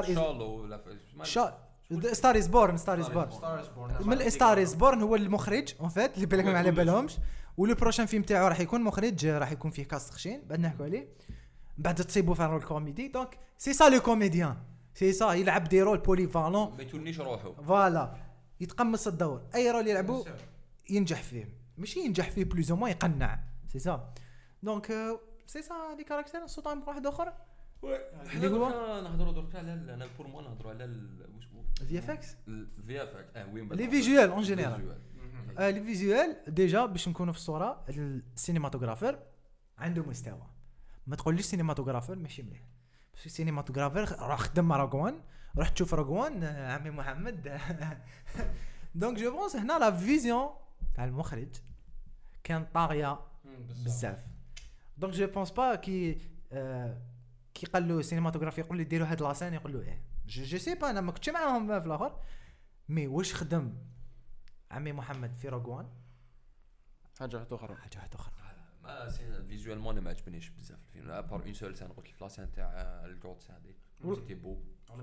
ستار از بورن من ستار از بورن هو المخرج اون فيت اللي بالك ما على بالهمش ولو بروشان فيلم تاعو راح يكون مخرج راح يكون فيه كاست خشين بعد نحكوا عليه بعد تصيبوا في رول كوميدي دونك سي سا لو كوميديان سي صا يلعب دي رول بوليفالون ما يتونيش روحو فوالا يتقمص الدور اي رول يلعبو ينجح فيه ماشي ينجح فيه بلوز او موان يقنع سي صا دونك سي صا لي كاركتير نصوتهم واحد اخر اللي هو نهضروا درك على انا بور مو نهضروا على واش هو في اف اكس الفي اف اكس وين لي فيجوال اون جينيرال لي فيجوال ديجا باش نكونوا في الصوره السينماتوغرافر عنده مستوى ما تقوليش سينماتوغرافر ماشي مليح بس السينماتوغرافر راح خدم مع راغوان راح تشوف راغوان عمي محمد دونك جو بونس هنا لا فيزيون تاع المخرج كان طاغيه بزاف دونك جو بونس با كي قال له سينماتوغرافي يقول لي ديروا هاد لاسين يقول له ايه جو سي با انا ما كنتش معاهم في الاخر مي واش خدم عمي محمد في راغوان حاجه اخرى ما فيزوالمون ما عجبنيش بزاف الفيلم ابار اون سول سان قلت لك لاسين تاع الجوت هذيك سيتي بو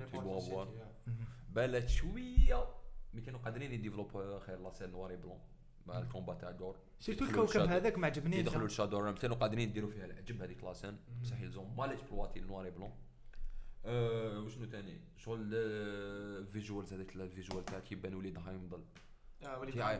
بالات شويه مي كانوا قادرين يديفلوبو خير لاسين نواري بلون مع الكومبا تاع جور سيرتو الكوكب هذاك ما عجبنيش يدخلوا الشادور كانوا قادرين يديروا فيها العجب هذيك لاسين بصح يلزم ما اكسبلواتي النواري بلون وشنو ثاني شغل الفيجوالز هذيك الفيجوال تاع كيبان وليد هايمضل وليد يا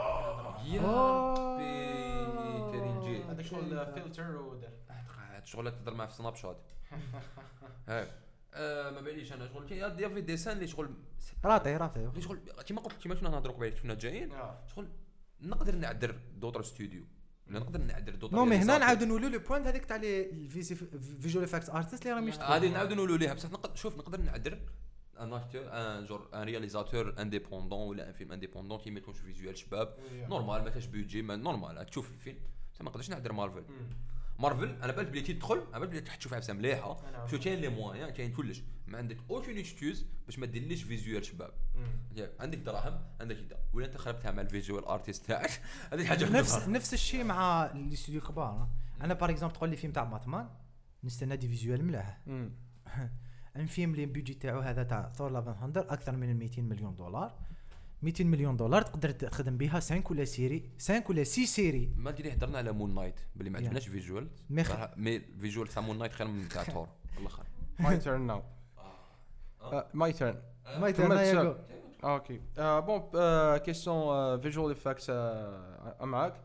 كريم جيد هذاك شغل فلتر ودار شغل تقدر معاه في سناب شات هاك ما باليش انا شغل يا في ديسان اللي شغل راتي شغل كيما قلت كيما كنا نهضروا قبيله كنا جايين شغل نقدر نعدر دوطر ستوديو نقدر نعدر دوطر نو مي هنا نعاودوا نقولوا لو بوينت هذيك تاع لي فيجوال افكتس ارتست اللي راهم يشتغلوا هذه نعاودوا نقولوا ليها بصح نقدر نعدر ان اكتور ان جور ان رياليزاتور انديبوندون ولا ان فيلم انديبوندون كي ما يكونش فيجوال شباب نورمال ما كاش بيدجي نورمال تشوف الفيلم بصح ما نقدرش نعدر مارفل انا بالك بلي تدخل انا بالك بلي تشوف عفسه مليحه شو كاين لي موان كاين كلش ما عندك اوكين اكسكيوز باش ما ديرليش فيزوال شباب عندك دراهم عندك كذا ولا انت خربتها مع الفيجوال ارتست تاعك هذه حاجه نفس الشيء مع الاستوديو الكبار انا باغ اكزومبل تقول لي فيلم تاع باتمان نستنى دي فيجوال ملاح ان فيلم اللي بيجي تاعو هذا تاع ثور لاف اند ثاندر اكثر من 200 مليون دولار 200 مليون دولار تقدر تخدم بها 5 ولا 6 سيري ما ادري هضرنا على مون نايت بلي ما عندناش فيجوال مي فيجوال تاع مون نايت خير من تاع ثور والله خير ماي تيرن ناو ماي تيرن ياكو اوكي بون كيسيون فيجوال افكتس معاك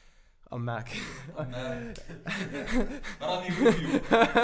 راني فيديو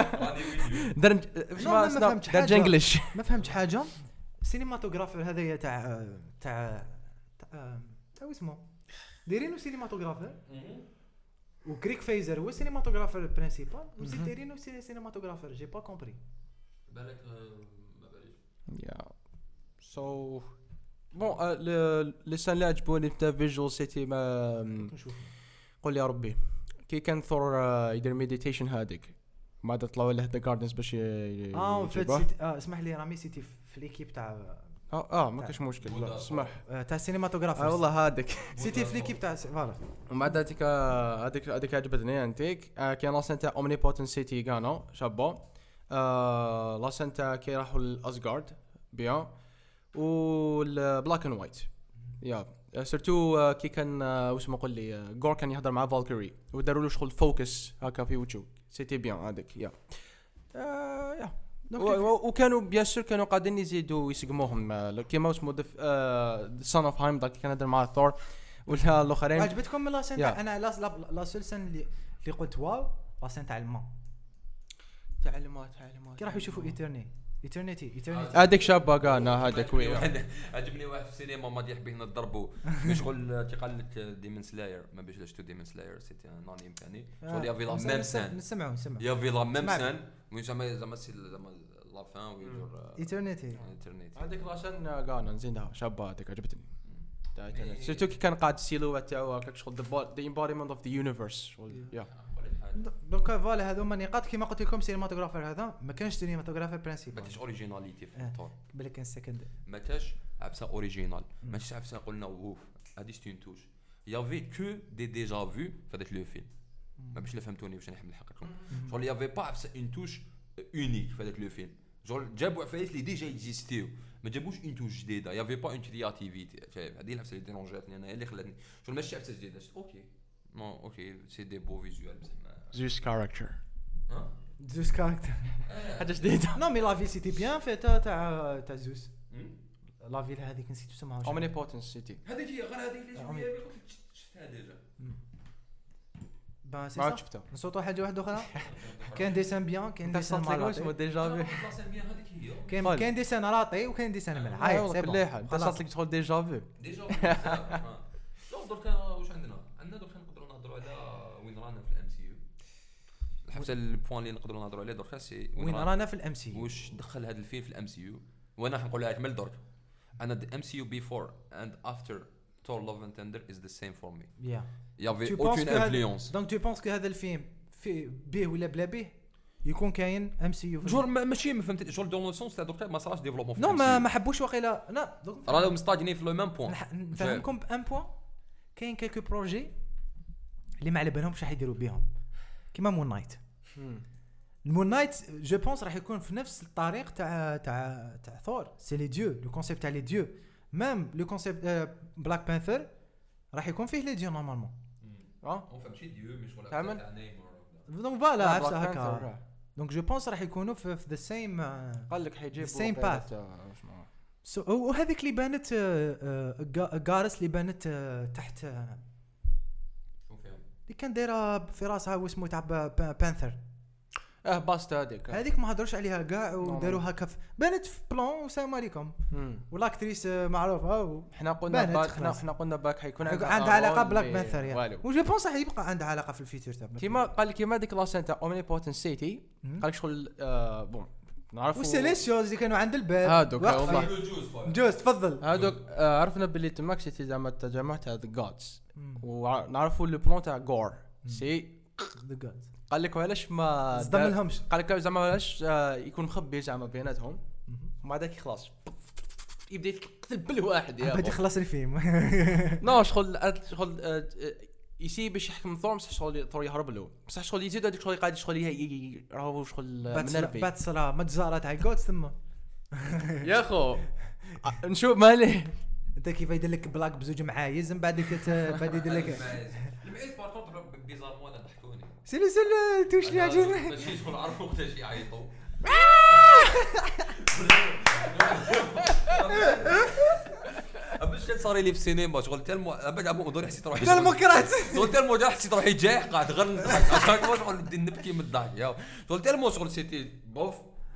درج انجلش ما فهمتش حاجه سينماتوغرافر هذايا تاع اسمه دايرينو سينماتوغرافر وكريك فايزر هو سينماتوغرافر برينسيبال وزيد دايرينو سينماتوغرافر جي با كومبري بالك ما باليش يا سو بون لي سان اللي عجبوني تاع فيجوال سيتي ما نشوف قول يا ربي كي كان ثور يدير ميديتيشن هذيك ما طلعوا له ذا جاردنز باش اسمح لي رامي سيتي في ليكيب تاع ما كاش مشكل لا اسمح تاع السينماتوغرافر والله هذاك سيتي في ليكيب تاع فوالا ومن بعد هذيك عجبتني انتيك كان لاسن تاع اومنيبوتن سيتي كانوا شابو لاسن تاع كي راحوا لاسغارد بيان والبلاك اند وايت يا سيرتو كي كان واش ما قول لي غور كان يهضر مع فالكيري وداروا له شغل فوكس هكا في وجهه سيتي بيان هذاك يا وكانوا بيان سور كانوا قاعدين يزيدوا يسقموهم كيما اسمه سان اوف هايم داك كان يهضر مع ثور ولا الاخرين عجبتكم من لاسين انا لا سولسن اللي قلت واو لاسين تاع الماء كي راح يشوفوا ايترنيتي هذاك شابه قالنا هذاك عجبني واحد في السينما ما يحب هنا نضربوا شغل قال لك ديمون سلاير ما بيش لاش تو ديمون سلاير سيتي نانيم ثاني شغل يا فيلا ميم سان نسمعوا يا فيلا ميم سان وين زعما لا فان ويجور ايترنيتي هذيك لاشن قالنا نزيدها شابه هذيك عجبتني سيرتو كي كان قاعد السيلوات تاعو هكاك شغل ذا امبوديمنت اوف ذا يونيفرس يا دونك فوالا هذوما النقاط كيما قلت لكم سينماتوغرافر هذا ما كانش سينماتوغرافر برينسيبال ما كاش اوريجيناليتي في الطور بالك كان سكند ما كاش عفسه اوريجينال ماشي عفسه قلنا اوف هذه ستون توش يافي كو دي ديجا فو في هذاك لو فيلم ما باش فهمتوني واش نحب نحكي لكم شغل يافي با عفسه اون توش اونيك في هذاك لو فيلم شغل جابوا عفايس اللي ديجا اكزيستيو ما جابوش اون توش جديده يافي با اون كرياتيفيتي شايف هذه العفسه اللي ديرونجاتني انا اللي خلاتني شغل ماشي عفسه جديده اوكي نو اوكي سي دي بو فيزوال زوس كاركتر زوس كاركتر حاجه جديده. نو مي لا في سيتي بيان فيتا تاع زوس لا فيل هذيك نسيت اسمها اومنيبوتنس سيتي هذيك هي غير هذيك اللي قلت لك شفتها ديجا. با سي ما سا شفتها. نصوتوا حاجه واحده اخرى كاين ديسان بيان كاين ديسان صوت لك واش مالاتي مو ديجا فو. هذيك هي كاين ديسان راطي وكاين ديسان مليح هاي سي كل بون حال صوت لك تقول ديجا فو. ديجا دركا واش عندنا دركا نقدروا نهضروا على وين رانا في الام سي يو. حتى البوان اللي نقدروا نهضروا عليه دركا سي وين رانا في الام سي واش دخل هذا الفيلم في الام سي يو. وانا راح نقول لك من درك انا الام سي يو بيفور اند افتر Thor Love and Thunder is the same for me. يا Il y avait aucune influence. دونك تو بونس كو هذا الفيلم في به ولا بلا به يكون كاين ام سي يو جور ماشي ما فهمت جور دون لو سونس تاع دركا ما صراش ديفلوبمون في نو ما حبوش واقيلا لا راهم مستاجنين في لو ميم بوين. نفهمكم بان بوين كاين كالكو بروجي اللي ما على بالهمش راح يديروا بهم كيما مون نايت. المون نايت جو بونس راح يكون في نفس الطريق تاع ثور سي لي ديو لو كونسيبت تاع لي ديو ميم لو كونسيبت بلاك بانثر راح يكون فيه لي ديو نورمالمون اون فهم شي ديو مش ولا تاع نيمور دونك فوالا عرفت هكا دونك جو بونس راح يكونوا في ذا سيم قال لك حيجيبوا سيم باث وهذيك اللي بانت غارس اللي بانت تحت اللي كان دايره في راسها واسمه تاع بانثر باستا هذيك ما هضروش عليها كاع وداروها كف بانت في بلان والسلام عليكم والاكتريس معروفه احنا قلنا باك حيكون عندها علاقه بلاك بانثر وجو بونس راح يبقى عندها علاقه في الفيتشر تاع كيما قال كيما ديك لاسين تاع اومنيبوتنس سيتي قال لك شغل بون نعرفوا والسيليسيوز اللي كانوا عند الباب هادوك والله جوز تفضل هادوك عرفنا باللي تماك سيتي زعما التجمع تاع ذا جادز ونعرفوا لو بلان تاع غور سي ذا جادز قال لك علاش ما صدم لهمش قال لك زعما علاش يكون مخبي زعما بيناتهم ومع ذاك خلاص يبدا يقتل بالواحد يا بدا يخلص الفيلم نو شغل يسي باش يحكم ثور شغل ثور يهرب له بصح شغل يزيد هذيك شغل قاعد شغل راهو شغل منرفي بات صرا متجاره تاع جودز ثم يا خو نشوف مالي انت كيف يدير لك بلاك بزوج معايز من بعد بعد يدير لك المعيز بار كونتر بيزار مو انا ضحكوني سيلو توش لي عجبني ماشي شغل عرفوا وقتاش يعيطوا باش كان صار لي في السينما شغل تالمو ابد ابو مدور حسيت روحي ديمقراط شغل تالمو جا حسيت روحي جايح قاعد غير نضحك عشان شغل نبكي من الضحك يا شغل تالمو شغل سيتي بوف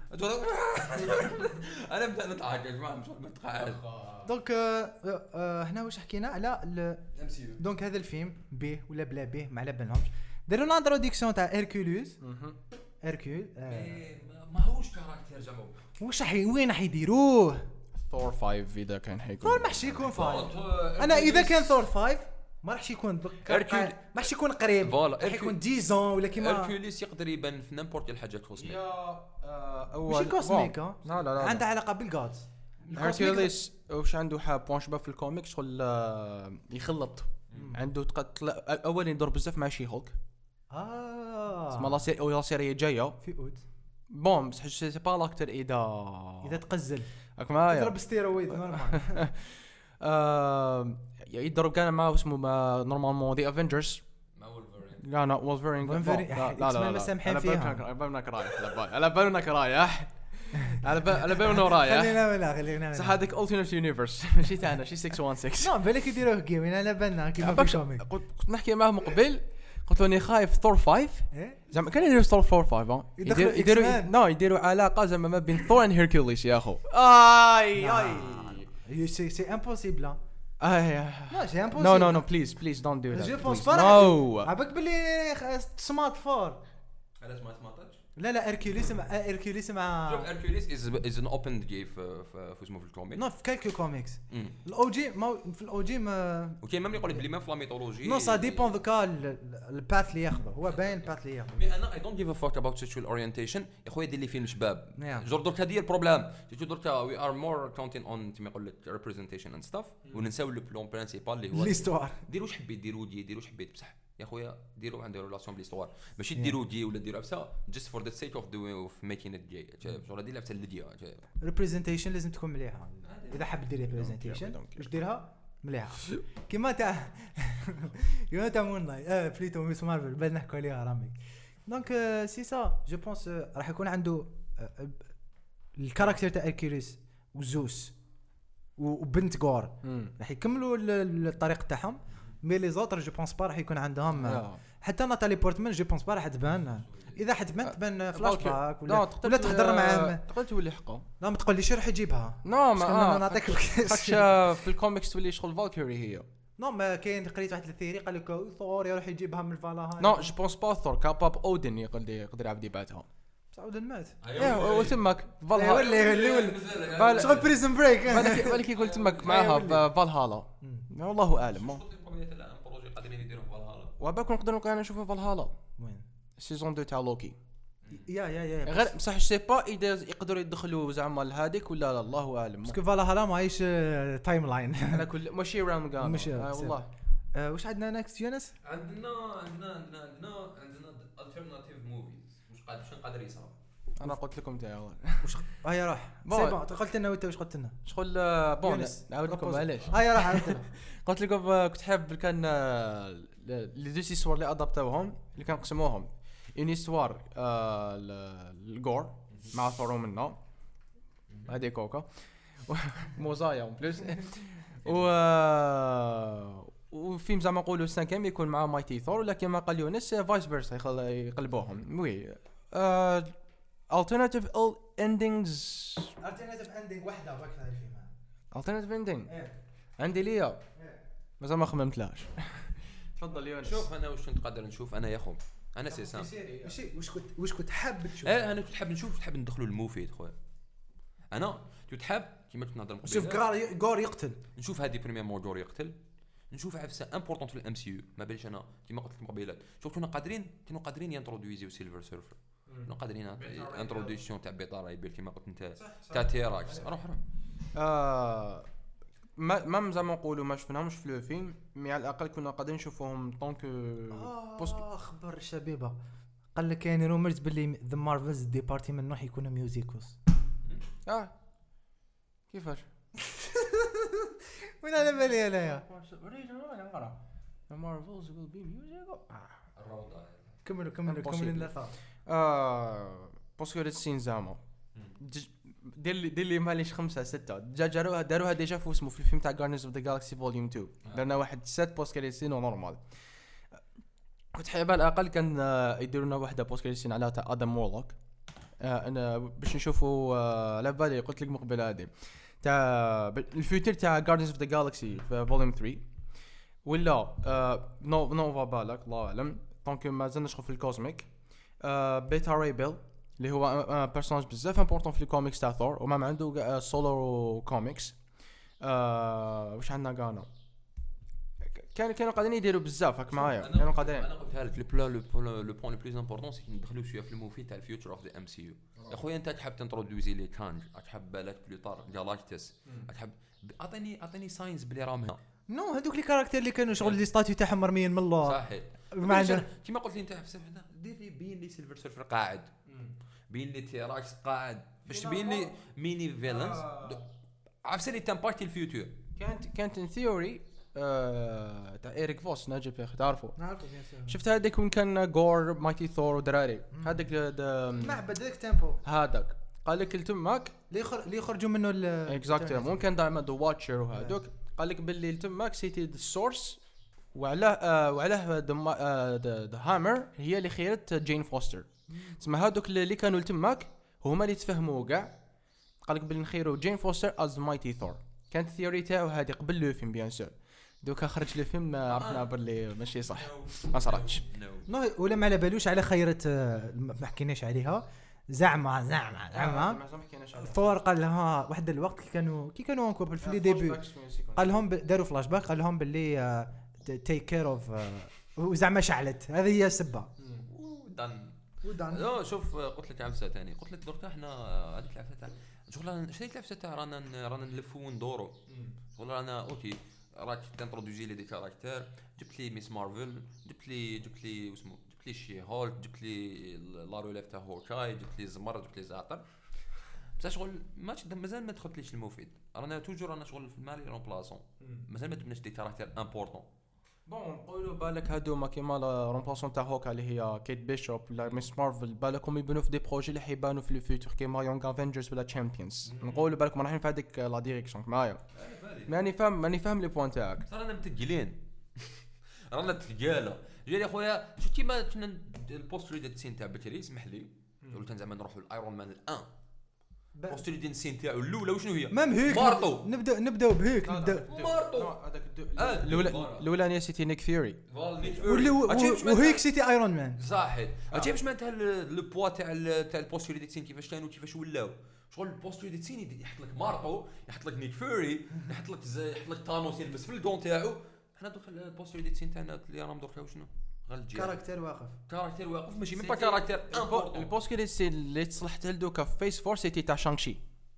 انا بدأ نضحك يا جماعه مش متقاعد. دونك هنا واش حكينا على الام سي يو. دونك هذا الفيلم به ولا بلا به ما على بالهمش داروا لنا انتروديكسيون تاع هيركوليوس هيركول ما هوش كاركتير جابوه واش وين راح يديروه ثور 5 اذا كان حيكون ثور ماحش يكون 5 انا اذا كان ثور 5 ما راحش يكون ما راحش يكون قريب راح يكون 10 ولا كيما هيركوليس يقدر يبان في نيمبورت الحاجه كوسميك اول ماشي كوسميك لا عنده علاقه بالجادز هيركوليس واش عنده بوان شباب في الكوميك شغل يخلط عنده تقتل اول يدور بزاف مع شي هولك اسمها لا سيري جايه في اوت بون بصح سي با لاكتر اذا تقزل راك معايا يضرب ستيرويد نورمال يضرب كان معاه اسمه نورمالمون دي افنجرز مع وولفرين لا لا وولفرين لا مسامحين فيها على بالنا رايح على بالنا رايح خلينا صح هذاك التيرنت يونيفرس ماشي تاعنا شي 616 نو بالك يديروه جيمين على بالنا كيما في الكوميك كنت نحكي معاه قبل قلت له اني خايف ثور 5 زعما كان يديروا ثور 4 5 يديروا علاقه زعما ما بين ثور اند هيركوليس يا اخو سي امبوسيبل لا سي امبوسيبل نو بليز دونت دو ذات جو بونس با عباك بلي سمارت فور علاش ما سمعتش لا اركوليس مع شوف اركوليس از ان اوبن جي في اسمه في الكوميك نو في كالكو كوميكس الاو جي ما في الاو جي ما وكاين ميم يقول لك بلي ما في لا ميثولوجي نو سا ديبون دوكا الباث اللي ياخذه هو باين الباث اللي ياخذه مي انا اي دونت جيف ا فاك اباوت سيكشوال اورينتيشن يا خويا دير لي فيلم شباب جور درك هذه البروبليم درك وي ار مور كاونتين اون كيما يقول لك ريبريزنتيشن اند ستاف وننساو لو بلون برينسيبال اللي هو ليستوار ديروا واش حبيت ديروا واش حبيت بصح يا خويا ديروا عندي ريلاسيون بليستوار ماشي ديروا دي ولا ديروا عفسه جست فور ذا سيك اوف دوين اوف ميكين ات جاي شغل هذه لعبه اللي ريبريزنتيشن لازم تكون مليحه اذا حاب دير ريبريزنتيشن واش ديرها مليحه كيما تاع مون نايت بليتو ميس مارفل بل نحكوا عليها رامي دونك سي سا جو بونس راح يكون عنده الكاركتر تاع اكيريس وزوس وبنت غور راح يكملوا الطريق تاعهم. مي لي زوتر جو بونس با راح يكون عندهم حتى ناتالي بورتمان جو بونس با راح تبان. اذا حتبان تبان فلاش باك ولا تهضر معاه تقدر تولي حقه. لا ما تقوليش راح يجيبها. نو ما نعطيك في الكوميكس تولي شغل فالكيري هي. نو ما كاين قريت واحد الثيري قال لك ثور يروح يجيبها من فالهالا. نو جو بونس با ثور كاباب اودن يقدر يعبد يبعثها. اودن مات. وتمك فالهالا شغل بريزن بريك. بالك يقول تمك معاها فالهالا. والله اعلم. وباكون نقدر نشوفوا فالهالا وين سيزون 2 تاع لوكي. يا غير بصح سي با اذا يقدروا يدخلوا زعما لهذيك ولا لا الله اعلم. باسكو فالهالا ماهيش تايم لاين. انا كل ماشي راوند قال والله. واش عندنا نكست يونس؟ عندنا التيرناتيف موفيز واش قادر يصرا. انا قلت لكم تاع واش هيا راح سي بون قلت لنا وانت واش قلت لنا شغل بون نعاود لكم علاش. هيا راح عاود لنا. قلت لكم كنت حاب كان لي دو سيسوار اللي ادابتاوهم اللي كان قسموهم اني سوار الجور مع ثورو منا هذه كوكا موزايا اون بليس وفيلم زعما نقولوا السانكيم يكون مع مايتي ثور ولكن ما قال يونس فايس فيرسا يقلبوهم وي alternative endings وحده باك هذا الفيلم alternative ending عندي ليا مازال ما خممتلاش. تفضل يونس. شوف انا واش كنت قادر نشوف انا يا خو انا سيسام ماشي واش كنت حاب تشوف. انا كنت حاب نشوف حاب ندخلوا الموفيد خويا. انا كنت حاب كيما كنت نهضر شوف غور يقتل نشوف هذه بريمير مور يقتل نشوف عفسه امبورطونت في الام سي يو ما باليش انا كيما قلت لكم قبيله شوف كنا قادرين ينترودويزيو سيلفر سيرفر كنا قادرين انتروديسيون تاع بيطار يبيل كيما قلت انت تاع تيراكس روح ما زعما نقولوا ما شفناهمش في الفيلم مي على الاقل كنا قادرين نشوفوهم طونك بوست. خبر الشبيبه قال لك كاين رومرز باللي ذا مارفلز ديبارتمنت راح يكونوا ميوزيكوس. كيفاش وين على بالي انايا نقرا ذا مارفلز ويل بي ميوزيكال كملوا لا باسكو السين زعما دير لي ماليش 5 6 داروها ديجا في اسمه في الفيلم تاع Guardians of the Galaxy Volume 2 درنا واحد 7 بوست كريسين نورمال. كنت حابب على الاقل كان يديروا لنا واحده بوست كريسين على تاع ادم مورلوك انا باش نشوفوا على بالي قلت لك مقبل هذه تاع الفيوتشر تاع Guardians of the Galaxy في Volume 3 ولا نوفا بالك الله اعلم. دونك ما زلنا في الكوزميك بيتا راي بيل اللي هو بيرسوناج بزاف امبورطون في الكوميكس تاع ثور وما عنده سولو كوميكس. واش عندنا قانا كانوا قاعدين يديروا بزاف هاك معايا كانوا قاعدين. انا قلتها لك لو بوين لو بلوس امبورطون سي ندخلوا شويه في الموفي تاع الفيوتشر اوف ذا ام سي يو. يا خويا انت تحب تنترودوزي لي كانج تحب بالك بلو طار جالاكتس تحب اعطيني ساينس بلي راهم هنا نو هذوك لي كاركتير اللي كانوا شغل لي ستاتيو تاعهم مرميين من الله صحيح ما عندنا كيما قلت لي انت في سبعنا دير لي بين لي سيلفر سيرفر قاعد بين لي تيراكس قاعد باش تبين لي ميني فيلنز عفسه لي تمبارتي الفيوتشر كانت ان ثيوري تاع ايريك فوس ناجي في تعرفوا نعرفوا شفت هذاك وين كان غور مايتي ثور ودراري هذاك معبد ديك تيمبو هذاك قال لك التماك اللي يخرجوا منه اكزاكتلي ممكن دائما دو واتشر وهذوك قال لك باللي التماك سيتي السورس وعلاه ذا هامر هي اللي خيرت جين فوستر تسمى هذوك اللي كانوا التماك هما اللي تفهموا كاع قال لك باللي نخيروا جين فوستر از مايتي ثور. كانت الثيوري تاعو هذه قبل لو فيلم بيان سور دوكا خرج الفيلم عرفنا باللي ماشي صح ما صراتش نو ولا ما على بالوش على خيرت ما حكيناش عليها زعما ثور قال لها واحد الوقت كي كانوا انكوبل في لي ديبي قال لهم داروا فلاش باك قال لهم باللي تيك كير اوف وزعما شعلت هذه هي السبه ودان لا شوف قلت لك عفسه ثاني قلت لك درت احنا هذيك العفسه تاع شغل شريت العفسه تاع رانا نلفوا وندوروا شغل رانا اوكي راك تنترودوزي لي دي كاركتير جبت لي ميس مارفل جبت لي اسمه جبت لي شي هولك جبت لي لاروليف تاع هوكاي جبت لي زمر جبت لي زعتر بصح شغل مازال ما دخلتليش المفيد رانا توجور رانا شغل في المالي رون بلاصون مازال ما جبناش دي كاركتير امبورطون بون نقولوا بالك هادوما كيما لا رومبلاسون تاع هوكا اللي هي كيت بيشوب ولا ميس مارفل بالكم يبنوا في دي بروجي اللي حيبانوا في الفيوتور كيما يونغ افنجرز ولا تشامبيونز نقولوا بالكم رايحين في هذيك لا ديريكسيون معايا ماني فاهم لي بوين تاعك ترى انا متقلين رانا تقاله جاي خويا شو كيما كنا البوست ريد سين تاع بكري اسمح لي قلت زعما نروحوا الايرون مان الان بوست ريد سين تاعو الاولى وشنو هي مام هيك مارطو نبداو بهيك مارطو هذاك الاولانيه سيتي نيك فيوري وهيك سيتي ايرون مان صحيح عرفتي باش معناتها لو بوا تاع البوست ريد سين كيفاش كانوا كيفاش ولاو شغل البوست ريد سين يحط لك مارطو يحط لك نيك فيوري يحط لك تانوس يلبس في الدون تاعو حنا دوك البوست ريد سين تاعنا اللي راهم دوك شنو كاركتر واقف ماشي مي با كاركتر البوست كي اللي تصلحت لدوكا في فيس فور سيتي تاع شانغشي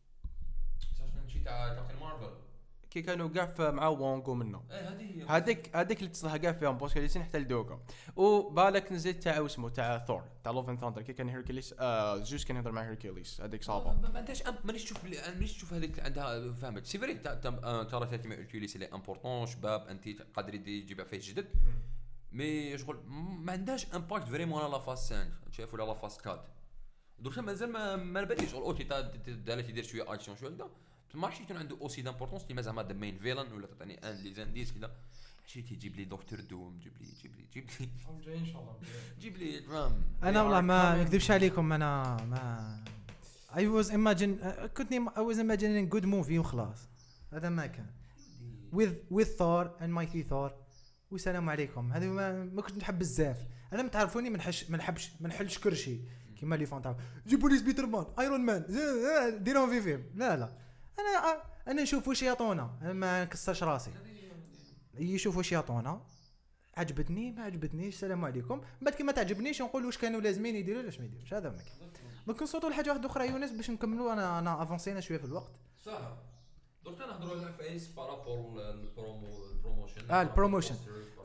تاع كابتن مارفل كي كانوا كاع مع وونغو منه هذيك اللي تصلح كاع فيهم بوست كي حتى لدوكا وبالك نزيد تاع اسمه تاع ثور تاع لوف اند ثاندر كي كان هيركليس زوس كان يهضر مع هيركليس هذيك صعبه ما عندهاش مانيش تشوف هذيك عندها فهمت سي فري ترى تاعتي مع هيركليس اللي امبورطون شباب انت قادر يجيب فيه جدد مي شغل ما عندهاش امباكت فريمون على لا فاس 5 شايف ولا لا فاس 4 درك مازال ما باليش شغل اوتي دالت يدير شويه اكشن شويه هكذا ما عرفتش يكون عنده اوسي دامبورطونس كيما زعما ذا مين فيلن ولا تعطيني ان لي زانديس كذا شي تجيب لي دكتور دوم جيب لي جاي ان شاء الله جيب لي فهم انا والله ما نكذبش عليكم انا ما I was imagining good movie وخلاص هذا ما كان with Thor and Mighty Thor والسلام عليكم هذا ما كنت نحب بزاف انا متعرفوني ما نحلش كرشي كيما لي فانتاو جيبوا لي سبيترمان ايرون مان ديرهم في فيلم لا انا نشوف واش يعطونا ما نكسرش راسي يشوفوا واش يعطونا عجبتني ما عجبتنيش السلام عليكم بعد كي ما تعجبنيش نقول واش كانوا لازمين يديروا ولا ما يديروش هذا ما كنصوتوا لحاجه واحده اخرى يونس باش نكملوا انا افونسينا شويه في الوقت صح درك نهضروا على فايس بارابور البروموشن البروموشن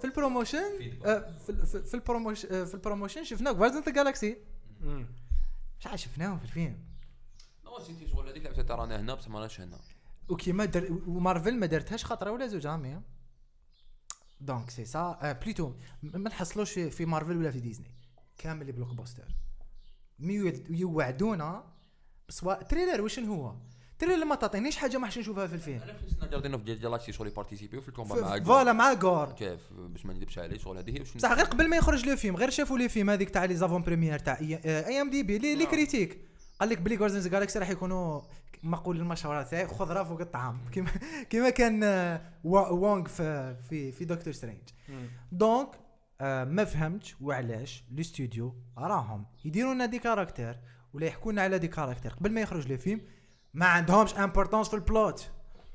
في البروموشن شفنا جاردينز اوف جالاكسي شحال شفناه في الفيلم سيتي شغل هذيك لعبه ترانا هنا بصح ماناش هنا وكيما ومارفل ما دارتهاش خطره ولا زوج عاميه دونك سي سا بليتو ما نحصلوش في مارفل ولا في ديزني كامل لي بلوك بوستر يوعدونا بسوا تريلر واش هو تريلر ما تعطينيش حاجه ما حش نشوفها في الفيلم انا فلسنا جاردين اوف جالاكسي شغل يبارتيسيبيو في الكومبا مع فوالا مع غور كيف باش ما نكذبش عليه شغل هذه هي واش صح غير قبل ما يخرج لو فيلم غير شافوا لي فيلم هذيك تاع لي زافون بريمير تاع اي ام دي بي لي كريتيك قال لك بلي جاردينز جالاكسي راح يكونوا مقول المشهورات تاعي خضره فوق الطعام كيما كان وونغ في دكتور سترينج دونك ما فهمتش وعلاش الاستوديو راهم يديروا لنا دي كاركتر ولا يحكوا لنا على دي كاركتر قبل ما يخرج لي فيلم ما عندهمش امبورطونس في البلوت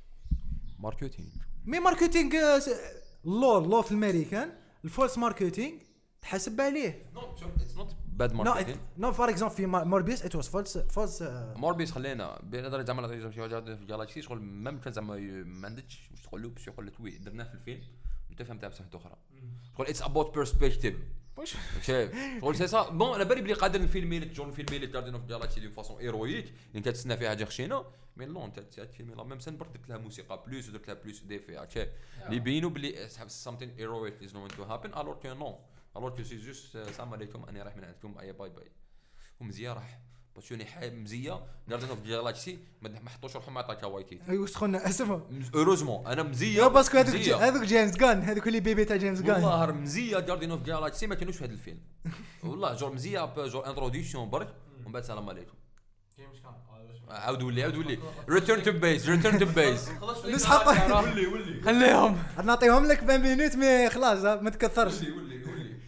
ماركتينغ لو في الامريكان الفولس ماركتينغ تحسب عليه اتس نوت باد ماركتينغ نو فور اكزامبل في موربيس ات واز فولس موربيس خلينا بنظر زعما في جالاكسي شغل ما ممكن زعما ما عندكش واش تقول له باش يقول لك وي درناه في الفيلم انت فهمتها بصح اخرى شغل اتس اباوت بيرسبكتيف واش شغل سي سا بون انا بالي بلي قادر نفيلمي لك جون فيلمي لك جاردين اوف جالاكسي دي فاصون هيرويك انت تسنى فيها حاجه خشينه مي لون انت تفيلمي لا ميم سن برك درت لها موسيقى بلوس ودرت لها بلوس ديفي عرفتي اللي يبينوا بلي something heroic is going to happen alors que non alors que c'est juste السلام عليكم انا رايح من عندكم اي باي ومزيه راح باشوني حاب مزيه جاردين اوف جالاكسي ما حطوش روحهم مع تاكا وايتي ايوا سخنا اسمع اوروزمون انا مزيه باسكو هذوك جيمس غان هذوك اللي بيبي تاع جيمس غان والله مزيه جاردين اوف جالاكسي ما كانوش في هذا الفيلم والله جور مزيه جور انتروديكسيون برك ومن بعد السلام عليكم عاود ولي ريتيرن تو بيس نسحق ولي خليهم نعطيهم لك 20 مينوت مي خلاص ما تكثرش ولي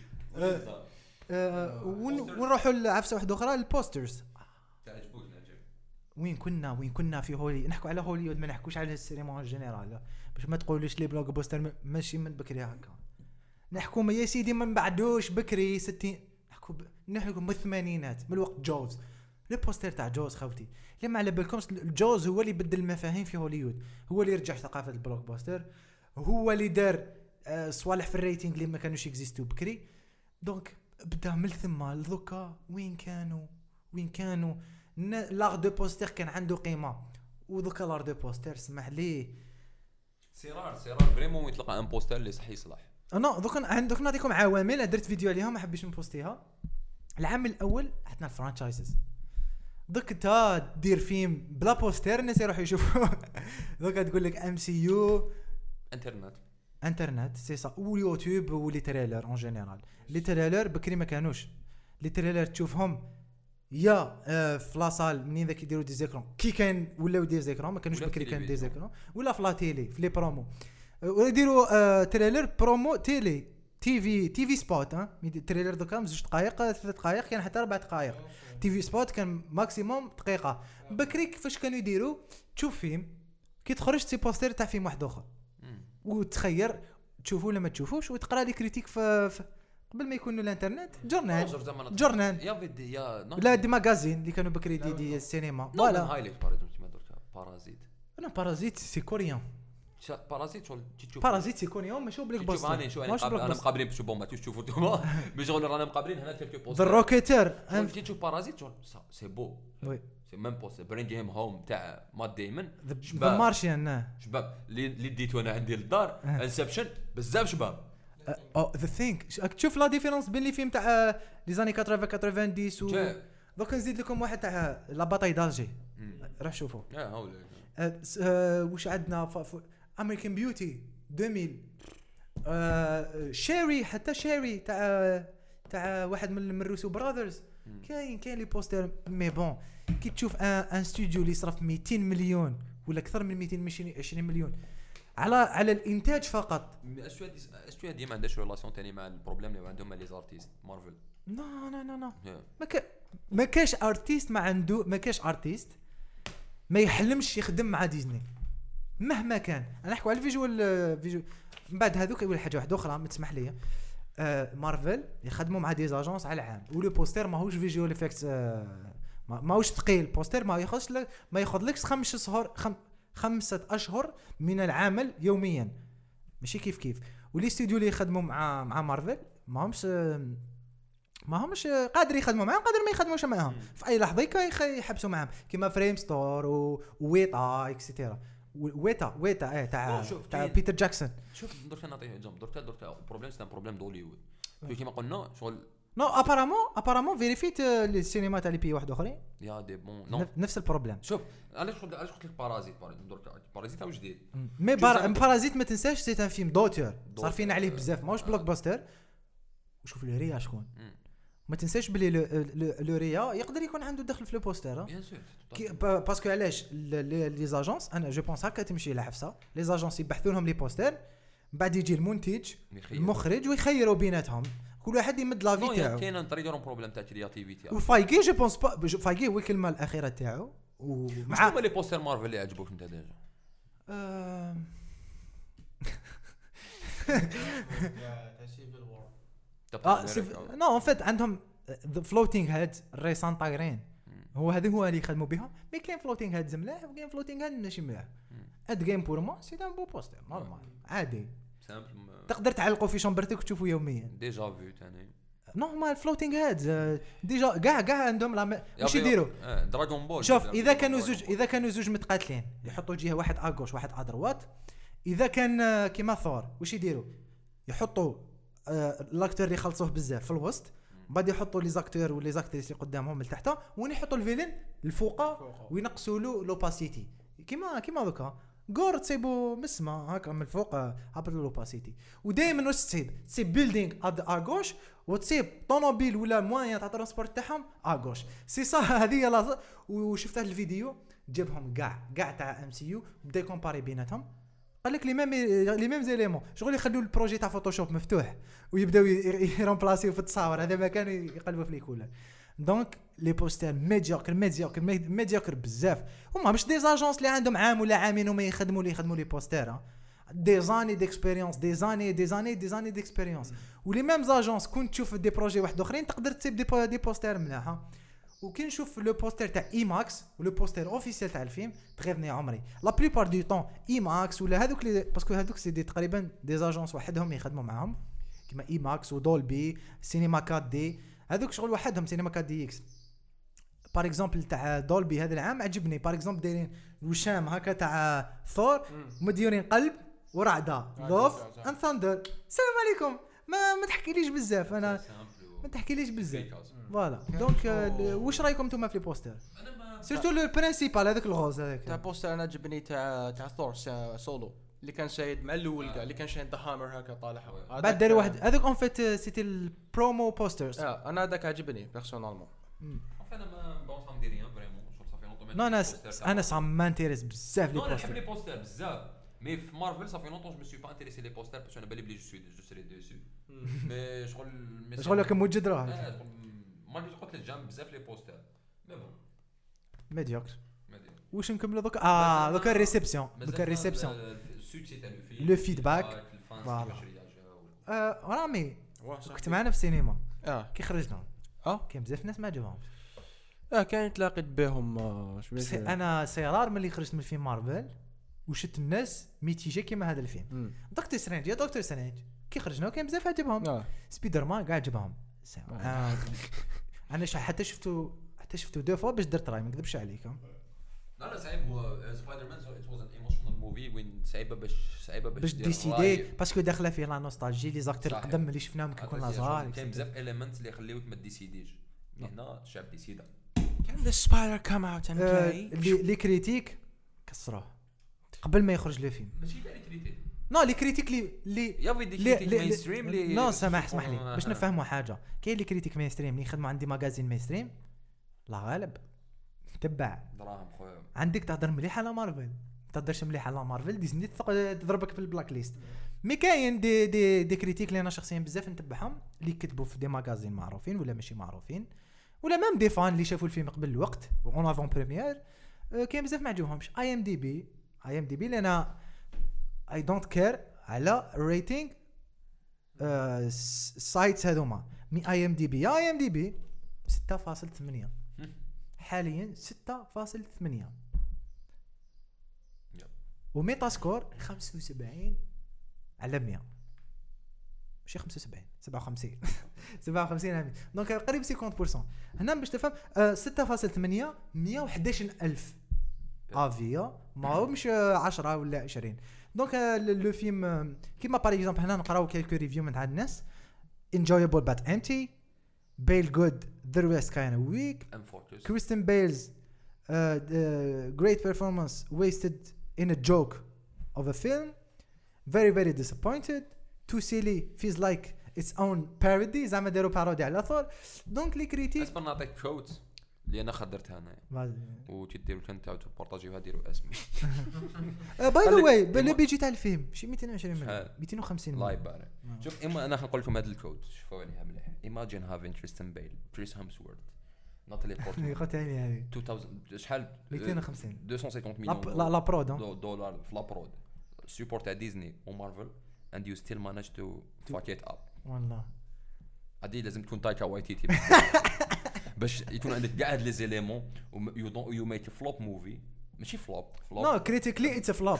ونروحوا لعفسه واحده اخرى البوسترز وين كنا في هولي نحكوا على هوليوود ما نحكوش على السينما جينيرال باش ما تقولوش لي بلوك بوستر ماشي من بكري هكا نحكوا يا سيدي ما بعدوش بكري 60 نحكوا من الثمانينات من الوقت جوز البوستر تاع جوز خوتي لما على بالكم الجوز هو اللي بدل المفاهيم في هوليوود هو اللي رجع ثقافه البلوك بوستر هو اللي دار صوالح في الريتينغ اللي ما كانوش يكزيستو بكري دونك بدا من ثم لذوكا وين كانوا لار دو بوستر كان عنده قيمه وذوكا لار دو بوستر سمح ليه سيرار فريمون يطلق ان بوستر اللي صح يصلح انا دوك نعطيكم عوامل درت فيديو عليها ما حبيتش نبوستيها. العام الاول حطنا الفرانشايزز، دوك انت دير فيلم بلا بوستر الناس يروحوا يشوفوا. دوك تقول لك ام سي يو انترنت سي سا ويوتيوب ولي تريلر اون جينيرال. لي تريلر بكري ما كانوش لي تريلر تشوفهم يا في لاصال منين ذاك يديروا دي زيكرون كي كان ولاو دي زيكرون ما كانوش بكري كان دي زيكرون ولا في لا تيلي في لي برومو ولا يديروا تريلر برومو تيلي تي في سبوت. تريلر دوكا 2 دقائق 3 دقائق كان حتى 4 دقائق. تي في سبوت كان ماكسيموم دقيقه. بكري كيفاش كانوا يديروا تشوف فيلم كي تخرج سي بوستر تاع فيلم واحد اخر وتخير تشوفوا ولا ما تشوفوش وتقرا لي كريتيك في قبل ما يكونوا الانترنت جورنال لا دي ماغازين اللي كانوا بكري دي السينما فوالا هايلايت بارازيت انا بارازيت سي كوريان بارازيت شغل تشوف بارازيت سي كوريان ماشي بليك باستر انا مقابلين باش بون ما تشوفوا نتوما مش شغل رانا مقابلين هنا كلكو بوستر ذا روكيتر تي تشوف بارازيت شغل سي بو وي سي ميم بوستر برينج هيم هوم تاع مات ديمن ذا مارشيان شباب اللي ديتو انا عندي للدار انسبشن بزاف شباب ذا ثينك تشوف لا ديفيرونس بين لي فيلم تاع لي زاني 80 90 دوك نزيد لكم واحد تاع لا باتاي دالجي روح شوفوا واش عندنا امريكان بيوتي 2000 شيري حتى شيري تاع واحد من روسو براذرز كاين لي بوستر مي بون كي تشوف ان استوديو اللي صرف 200 مليون ولا اكثر من 220 مليون على الانتاج فقط. استوديو ديما عندها ريلاسيون ثاني مع البروبليم اللي عندهم لي زارتيست مارفل. نو ما كاش ارتيست ما كاش ارتيست ما يحلمش يخدم مع ديزني مهما كان. انا نحكوا على الفيجوال من بعد هذوك يقول حاجه واحده اخرى ما تسمح لي. مارفل يخدموا مع دي زاجونس على العام ولو بوستر ماهوش فيجوال افكتس ماهوش ثقيل. بوستر ما ياخذلكش 5 أشهر من العمل يوميا ماشي كيف ولي استوديو اللي يخدموا مع مارفل ماهمش قادر يخدموا معهم قادر ما يخدموش معهم في اي لحظه يحبسوا معهم كيما فريم ستور وويتا اكسيتيرا ويتا تاع بيتر جاكسون. شوف درك نعطيه اكزامبل درك بروبليم سي ان بروبليم دوليوود كيما قلنا شغل نو ابارامون فيريفيت السينما تاع لي بي واحد اخرين يا دي بون نفس البروبليم. شوف علاش قلت لك بارازيت درك بارازيت واش جديد مي بارازيت ما تنساش سي ان فيلم دوتور صارفين عليه بزاف ماهوش بلوك باستر. وشوف لو ريا شكون ما تنساش بلي لو ريا يقدر يكون عنده دخل في لو بوستر بيان سور باسكو علاش لي زاجونس انا جو بونس هكا تمشي لحفصه لي زاجونس يبحثوا لهم لي بوستر بعد يجي المنتج المخرج ويخيروا بيناتهم كل واحد يمد لا في تاعو. كاين نطريدون بروبليم تاع كرياتيفيتي وفايغي جو بونس فايغي هو الكلمه الاخيره تاعو ومع لي بوستر مارفل اللي عجبوك انت ديجا نو ان فيت عندهم فلوتينغ هيد الريسان طايرين هو اللي يخدموا بها. مي كاين فلوتينغ هيد ملاح وكاين فلوتينغ هيد ماشي ملاح. اد جيم بور مو سي دان بو بوستر نورمال عادي تقدر تعلقوا في شامبرتك وتشوفوا يوميا ديجا فيو ثاني نورمال فلوتينغ هيد ديجا كاع عندهم واش يديروا دراغون بول. شوف اذا كانوا زوج متقاتلين يحطوا جهه واحد اغوش واحد ادروات. اذا كان كيما ثور واش يديروا يحطوا لاكتور اللي يخلصوه بزاف في الوسط بعد يحطوا لي زاكتور ولي زاكتريس اللي قدامهم لتحت وين يحطوا الفيلن الفوق وينقصوا له لوباسيتي كيما دوكا غور تصيبوا مسمى هكا من الفوق هبط لوباسيتي. ودائما واش تصيب بيلدينغ اغوش وتصيب طوموبيل ولا موان تاع ترونسبورت تاعهم اغوش سي صا هذه لا. وشفت هذا الفيديو جابهم كاع تاع ام سي يو بدا يكومباري بيناتهم قال لك لي ميم زيليمون شغل يخلوا البروجي تاع فوتوشوب مفتوح ويبداو يرامبلاسيو في التصاور هذا ما كانوا يقلبوا في ليكولا. دونك لي بوستر ميديوكر بزاف هما مش دي زاجونس اللي عندهم عام ولا عامين وما يخدموا لي بوستر دي زاني ديكسبيريونس دي زاني ديكسبيريونس. ولي ميم زاجونس كنت تشوف دي بروجي واحد اخرين تقدر تسيب دي بوستر ملاحه. وكي نشوف لو بوستر تاع اي ماكس ولو بوستر اوفيسيال تاع الفيلم تغيرني عمري لا بليبار دو طون اي ماكس ولا هذوك باسكو هذوك سي دي تقريبا دي زاجونس وحدهم يخدموا معاهم كيما اي ماكس ودولبي سينما 4 دي هذوك شغل وحدهم سينما 4 دي اكس. بار اكزومبل تاع دولبي هذا العام عجبني بار اكزومبل دايرين وشام هكا تاع ثور مديرين قلب ورعدة لوف اند ثاندر. السلام عليكم. ما تحكيليش بزاف انا ما تحكيليش بزاف فوالا. دونك واش رايكم نتوما في لي بوستر سيرتو لو برينسيبال هذاك الغوز هذاك تاع بوستر انا عجبني تاع ثور سولو اللي كان شايد مع الاول كاع اللي كان شايد ذا هامر هكا طالع بعد داروا واحد هذاك اون فيت سيتي البرومو بوسترز. انا هذاك عجبني بيرسونالمون. انا ما بونس ندير ريان فريمون صافي لونطون. نو انا صا ما انتريس بزاف لي انا نحب لي بوستر. بوستر بزاف مي في مارفل صافي لونطون جو مي سوي با انتريسي لي بوستر باش انا بالي بلي جو سري ديسو مي شغل لك موجد راه ما قلت قلت الجام بزاف لي بوستر مي بون ميديوكر. ما دير واش نكملوا دوك دوك الريسبسيون السوكسي تاع لو فيدباك فوالا. رامي كنت معنا في السينما كي خرجنا كاين بزاف ناس ما عجبهمش. كان تلاقيت بهم انا سيرار ملي خرجت من فيلم مارفل وشت الناس ميتيجي كيما هذا الفيلم. دكتور سترينج يا دكتور سترينج كي خرجنا كاين بزاف عجبهم. سبايدر مان كاع عجبهم. انا حتى شفتو دو فوا باش درت راي ما نكذبش عليكم. لا صعيب هو سبايدر مان ات واز ان ايموشنال موفي وين صعيبه باش ديسيدي باسكو داخله فيه لا نوستالجي لي زاكتور القدم اللي شفناهم كي كنا صغار كاين بزاف اليمنت اللي يخليوك ما ديسيديش. هنا الشعب ديسيدا كان ذا سبايدر كام اوت اند بلاي لي كريتيك كسروه قبل ما يخرج لو فيلم. ماشي كاع لي كريتيك نو لي كريتيك لي يا فيدي كريتيك مين ستريم لي نو اسمح لي باش نفهموا حاجه. كاين لي كريتيك مين ستريم اللي يخدموا عندي ماغازين مين ستريم لا غالب تبع دراهم خويا. عندك تهضر مليح على مارفل تهضرش مليح على مارفل ديزني تضربك في البلاك ليست. مي كاين دي كريتيك اللي انا شخصيا بزاف نتبعهم اللي كتبوا في دي ماغازين معروفين ولا ماشي معروفين ولا ميم دي فان اللي شافوا الفيلم قبل الوقت اون افون بريمير. كاين بزاف ما عجبهمش اي ام دي بي اللي انا اي دونت كير على الريتينغ سايتس هذوما. مي اي ام دي بي 6.8 حاليا 6.8 وميتا سكور 75 على 100 ماشي 75 57 دونك قريب 50%. هنا باش تفهم 6.8 111,000 افيا ماهمش 10 ولا 20. دونك لو فيلم كيما باغ اكزومبل هنا نقراو كالكو ريفيو من عند الناس enjoyable but empty, Bale good, the rest kind of weak, Kristen Bale's great performance wasted in a joke of a film, very disappointed, too silly, feels like its own parody زعما داروا بارودي على ثور. دونك لي كريتيك اسبر نعطيك كوت اللي انا خدرتها انا وتديروا تنتاعو تبارطاجيوها ديروا اسمي باي ذا واي بلي بيجي تاع الفيلم شي 220 مليون 250 مليون لايف بارك. شوف اما انا نقول لكم هذا الكود شوفوا عليها مليح. Imagine having Kristen Bale, Chris Hemsworth, Natalie Portman. قتاني هذه 2000 شحال 250 250 مليون لا برود دولار في لا برود سيبورت تاع ديزني ومارفل and you still manage to fuck it up. والله هذه لازم تكون تايكا وايتيتي باش يكون عندك كاع هاد لي زيليمون يو ميك فلوب موفي ماشي فلوب نو كريتيكلي اتس فلوب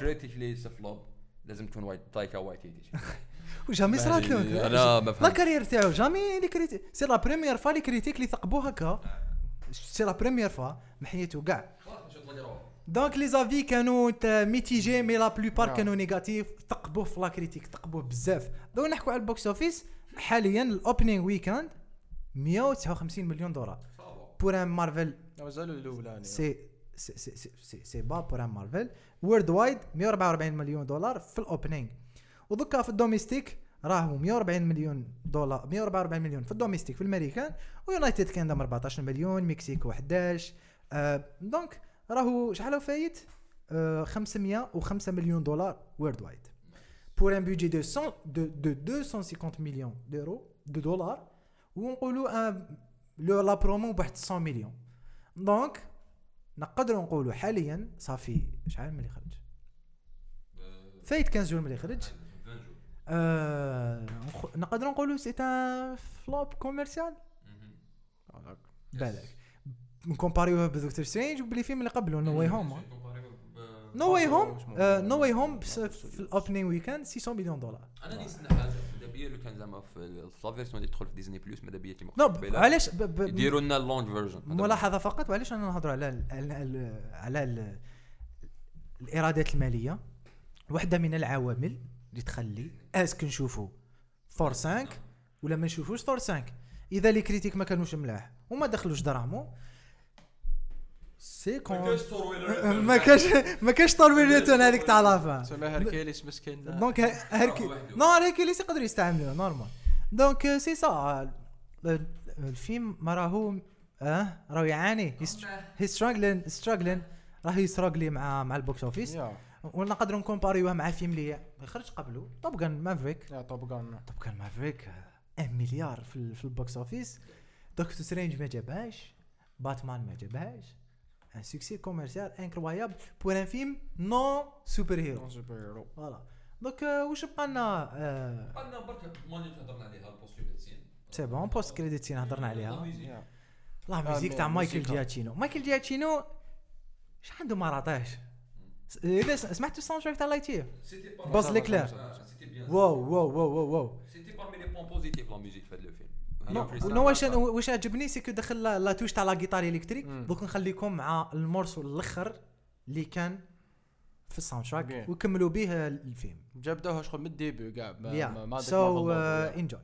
لازم تكون تايكا وايتيتي. وجامي صرات له انا ما لا كارير تاعو جامي لي كريتيك سي لا بريمير فوا لي كريتيك اللي ثقبوه هكا سي لا بريمير فوا محيتو كاع. دونك لي زافي كانوا ميتيجي مي لا بلوبار كانوا نيجاتيف ثقبوه في لا كريتيك ثقبوه بزاف. دونك نحكوا على البوكس اوفيس حاليا الاوبنينغ ويكاند 159 مليون دولار بور ان مارفل مازالوا الاولاني سي با بور ان مارفل وورد وايد 144 مليون دولار في الاوبنينغ. ودكا في الدوميستيك راهو 140 مليون دولار 144 مليون في الدوميستيك في الامريكان ويونايتد كيندم 14 مليون مكسيكو 11 دونك راهو شحال فايت 505 مليون دولار وورد وايد بور ان بودجي دو 250 مليون دورو دو دولار ونقولوا لو لا برومو ب 100 مليون. دونك نقدروا نقولوا حاليا صافي شحال ملي خرج فايت 15 جور ملي خرج نقدروا نقولوا سي ان فلوب كوميرسيال بالك نكومباريوه بدكتور سترينج وبلي فيلم اللي قبله نو واي هوم نو واي هوم في الاوبنينغ ويكاند 600 مليون دولار. انا نسمع حاجه مادابيا لو كان زعما في لا فيرسيون اللي تدخل في ديزني بلس مادابيا كيما علاش يديروا لنا اللونج فيرجن ملاحظه فقط. وعلاش انا نهضروا على الايرادات الماليه واحده من العوامل اللي تخلي اسك نشوفوا ثور 5 ولا ما نشوفوش ثور 5. اذا لي كريتيك ما كانوش ملاح وما دخلوش دراهمو سي كون ما كاش طوريتون هذيك تاع لافا. سما هركيليس مسكين دونك هركيليس يقدر يستعملوه نورمال. دونك سي سا الفيلم ما راهو راهو يعاني هي ستراغلين راهو يستراغلي مع البوكس اوفيس. ونقدروا نكومباريوه مع فيلم اللي خرج قبله توب جان مافريك. توب جان مافريك 1 مليار في البوكس اوفيس. دكتور سترينج ما جابهاش, باتمان ما جابهاش. ان سوكسي كوميرسيال انكرويابل بور ان فيلم نو سوبر هيرو. فوالا دونك واش بقى لنا؟ قلنا برك ماني هضرنا عليها البوست كريديت سين. سي بون بوست كريديت سين هضرنا عليها. لا ميوزيك تاع مايكل جياتشينو اش عنده ما راطاش. اذا سمعتوا الساوند تراك تاع لايتير بوز ليكلير واو سيتي بارمي لي بوين بوزيتيف لا ميوزيك في هذا الفيلم. نو واش عجبني سي كو دخل لا توش تاع لا غيتار الكتريك. دوك نخليكم مع المورسو الاخر اللي كان في الساوند تراك وكملوا به الفيلم. جابدوها شغل من الديبي كاع ما سو انجوي.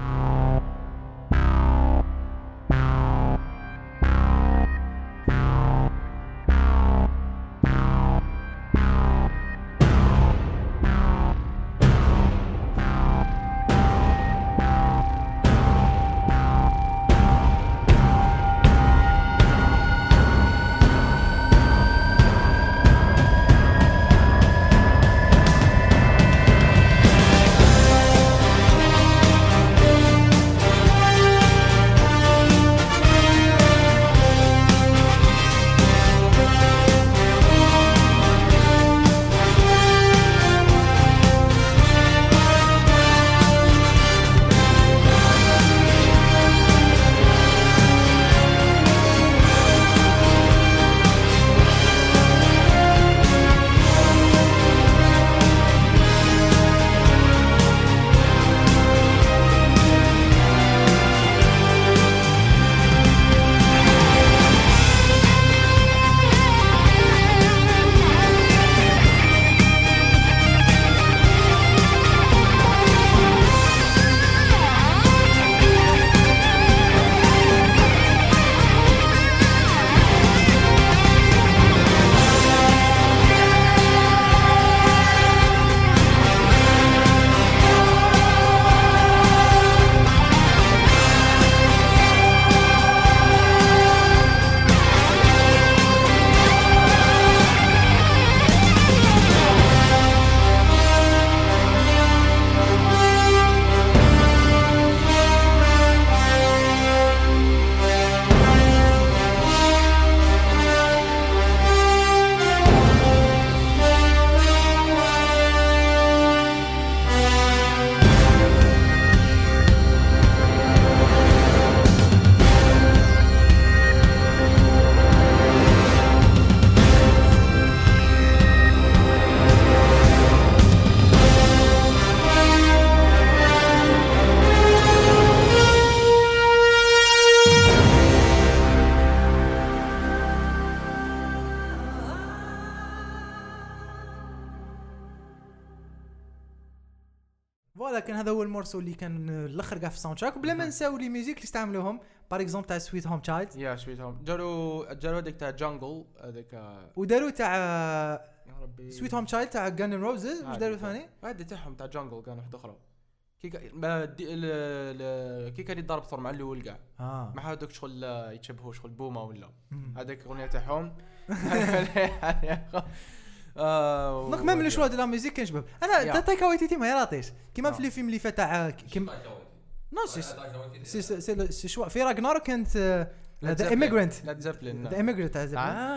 ولكن هذا هو المورسو اللي كان الاخر كاع في الساوند تراك. بلا ما نساو لي ميوزيك اللي استعملوهم باغ اكزومبل تاع سويت هوم تشايلد. يا سويت هوم جارو هذيك تاع جانجل هذيك وداروا تاع يا ربي سويت هوم تشايلد تاع غان اند روزز. واش داروا ثاني؟ هذه تاعهم تاع جانجل كان واحد اخرى كي كان يضرب ثور مع الاول كاع ما هذوك شغل يتشبهوا شغل بوما ولا هذاك الاغنيه تاعهم. دونك ميم لو شوا دو لا ميوزيك كان شباب. انا تايكا وايتيتي ما يراطيش كيما في الفيلم اللي فات تاع نو سي شوا في راغنار كانت هذا ايميغرانت لا زابلين ذا ايميغرانت تاع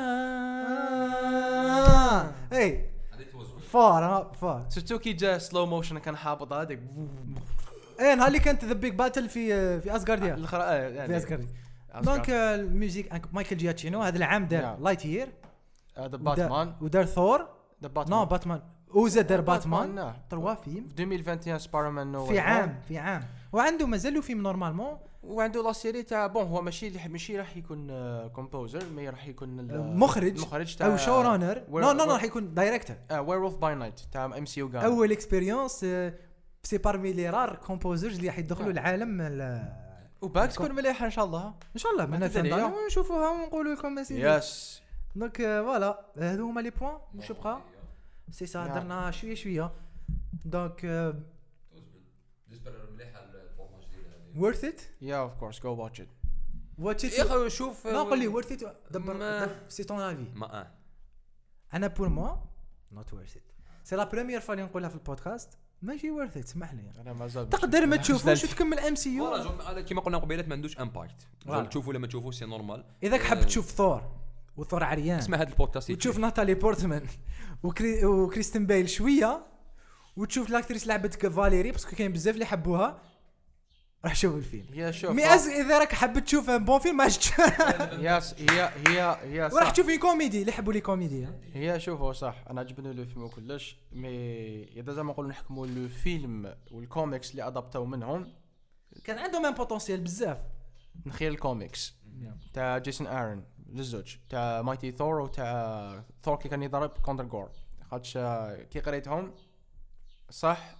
اي فار سورتو كي جا سلو موشن كان حابط هذاك نهار اللي كانت ذا بيج باتل في اسغارديا الاخرى في اسغارديا. دونك الميوزيك مايكل جياتشينو هذا العام دار لايت يير هذا باتمان ودار ثور نو باتمان وزاد باتمان 3 فيلم في 2021 سبايدرمان نو في عام وعنده مازالوا فيلم نورمالمون وعنده لا سيري تاع بون هو ماشي راح يكون كومبوزر مي راح يكون مخرج تاع او شو رانر. نو راح يكون دايركتور. وير باي نايت تاع ام سي يو. اول اكسبيريونس سي بارمي لي رار كومبوزرز اللي راح يدخلوا العالم وباك تكون مليحه ان شاء الله. ان شاء الله من الثانيه ونشوفوها ونقولوا لكم يس. دونك فوالا هادو هما لي بوين واش بقى سي سا درنا شويه دونك بالنسبه مليحه الفورماج ديال هذه worth it yeah of course go watch it يا اخي شوف ما قول لي worth it دبر سي طون افي ما انا بور موا not worth it سي لا بريمير فوا اللي نقولها في البودكاست ماشي worth it اسمح لي انا مازال تقدر ما تشوفوش وتكمل ام سي يو كيما قلنا قبيلات ما عندوش امباكت تشوفوا ولا ما تشوفوش سي نورمال اذا حاب تشوف ثور وثور عريان اسمع هذا البودكاست وتشوف ناتالي بورتمان وكريستين بيل شويه وتشوف لاكتريس لعبت فاليري باسكو كاين بزاف اللي حبوها راح شوف الفيلم يا شوف مي اذا راك حاب تشوف ان بون فيلم ياس هي وراح تشوف لي كوميدي اللي يحبوا لي كوميدي هي شوفوا صح انا عجبني لو فيلم وكلش مي اذا زعما نقولوا نحكموا لو فيلم والكوميكس اللي ادابتاو منهم كان عندهم ان بوتنسيال بزاف نخيل الكوميكس تاع جيسون ارن للزوج تاع مايتي ثور وتاع ثور كي كان يضرب كونتر جور خاطش كي قريتهم صح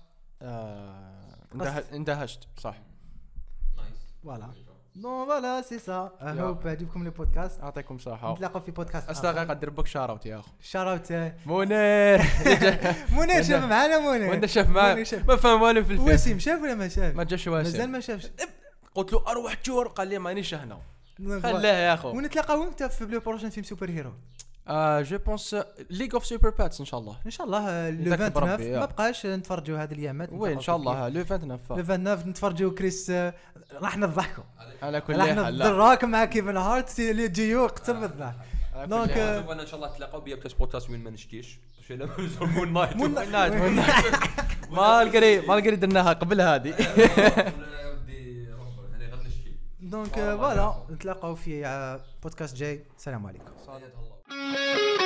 اندهشت صح فوالا نو فوالا سي سا هوب عجبكم لي بودكاست يعطيكم صحه نتلاقاو في بودكاست استغرق قدر بك شاراوت يا اخو شاراوت منير منير شاف معنا منير وانت شاف معنا ما فهم والو في الفيلم وسيم شاف ولا ما شاف ما جاش واسم مازال ما شافش قلت له اروح تشور قال لي مانيش هنا خلاه يا اخو ونتلاقاو امتى في بلو بروشن فيلم سوبر هيرو جو بونس ليج اوف سوبر باتس ان شاء الله ان شاء الله لو 29 ما بقاش نتفرجوا هذه الايامات وين ان شاء الله لو 29 نتفرجوا كريس راح نضحكوا على كل حال حال دراك مع كيفن هارت اللي جيو قتل بالضحك دونك شوف انا ان شاء الله تلاقاو بيا بلاش بودكاست وين ما نشتيش مون نايت ما درناها قبل هذه دونك فوالا نتلاقاو في بودكاست جاي السلام عليكم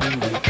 الجمله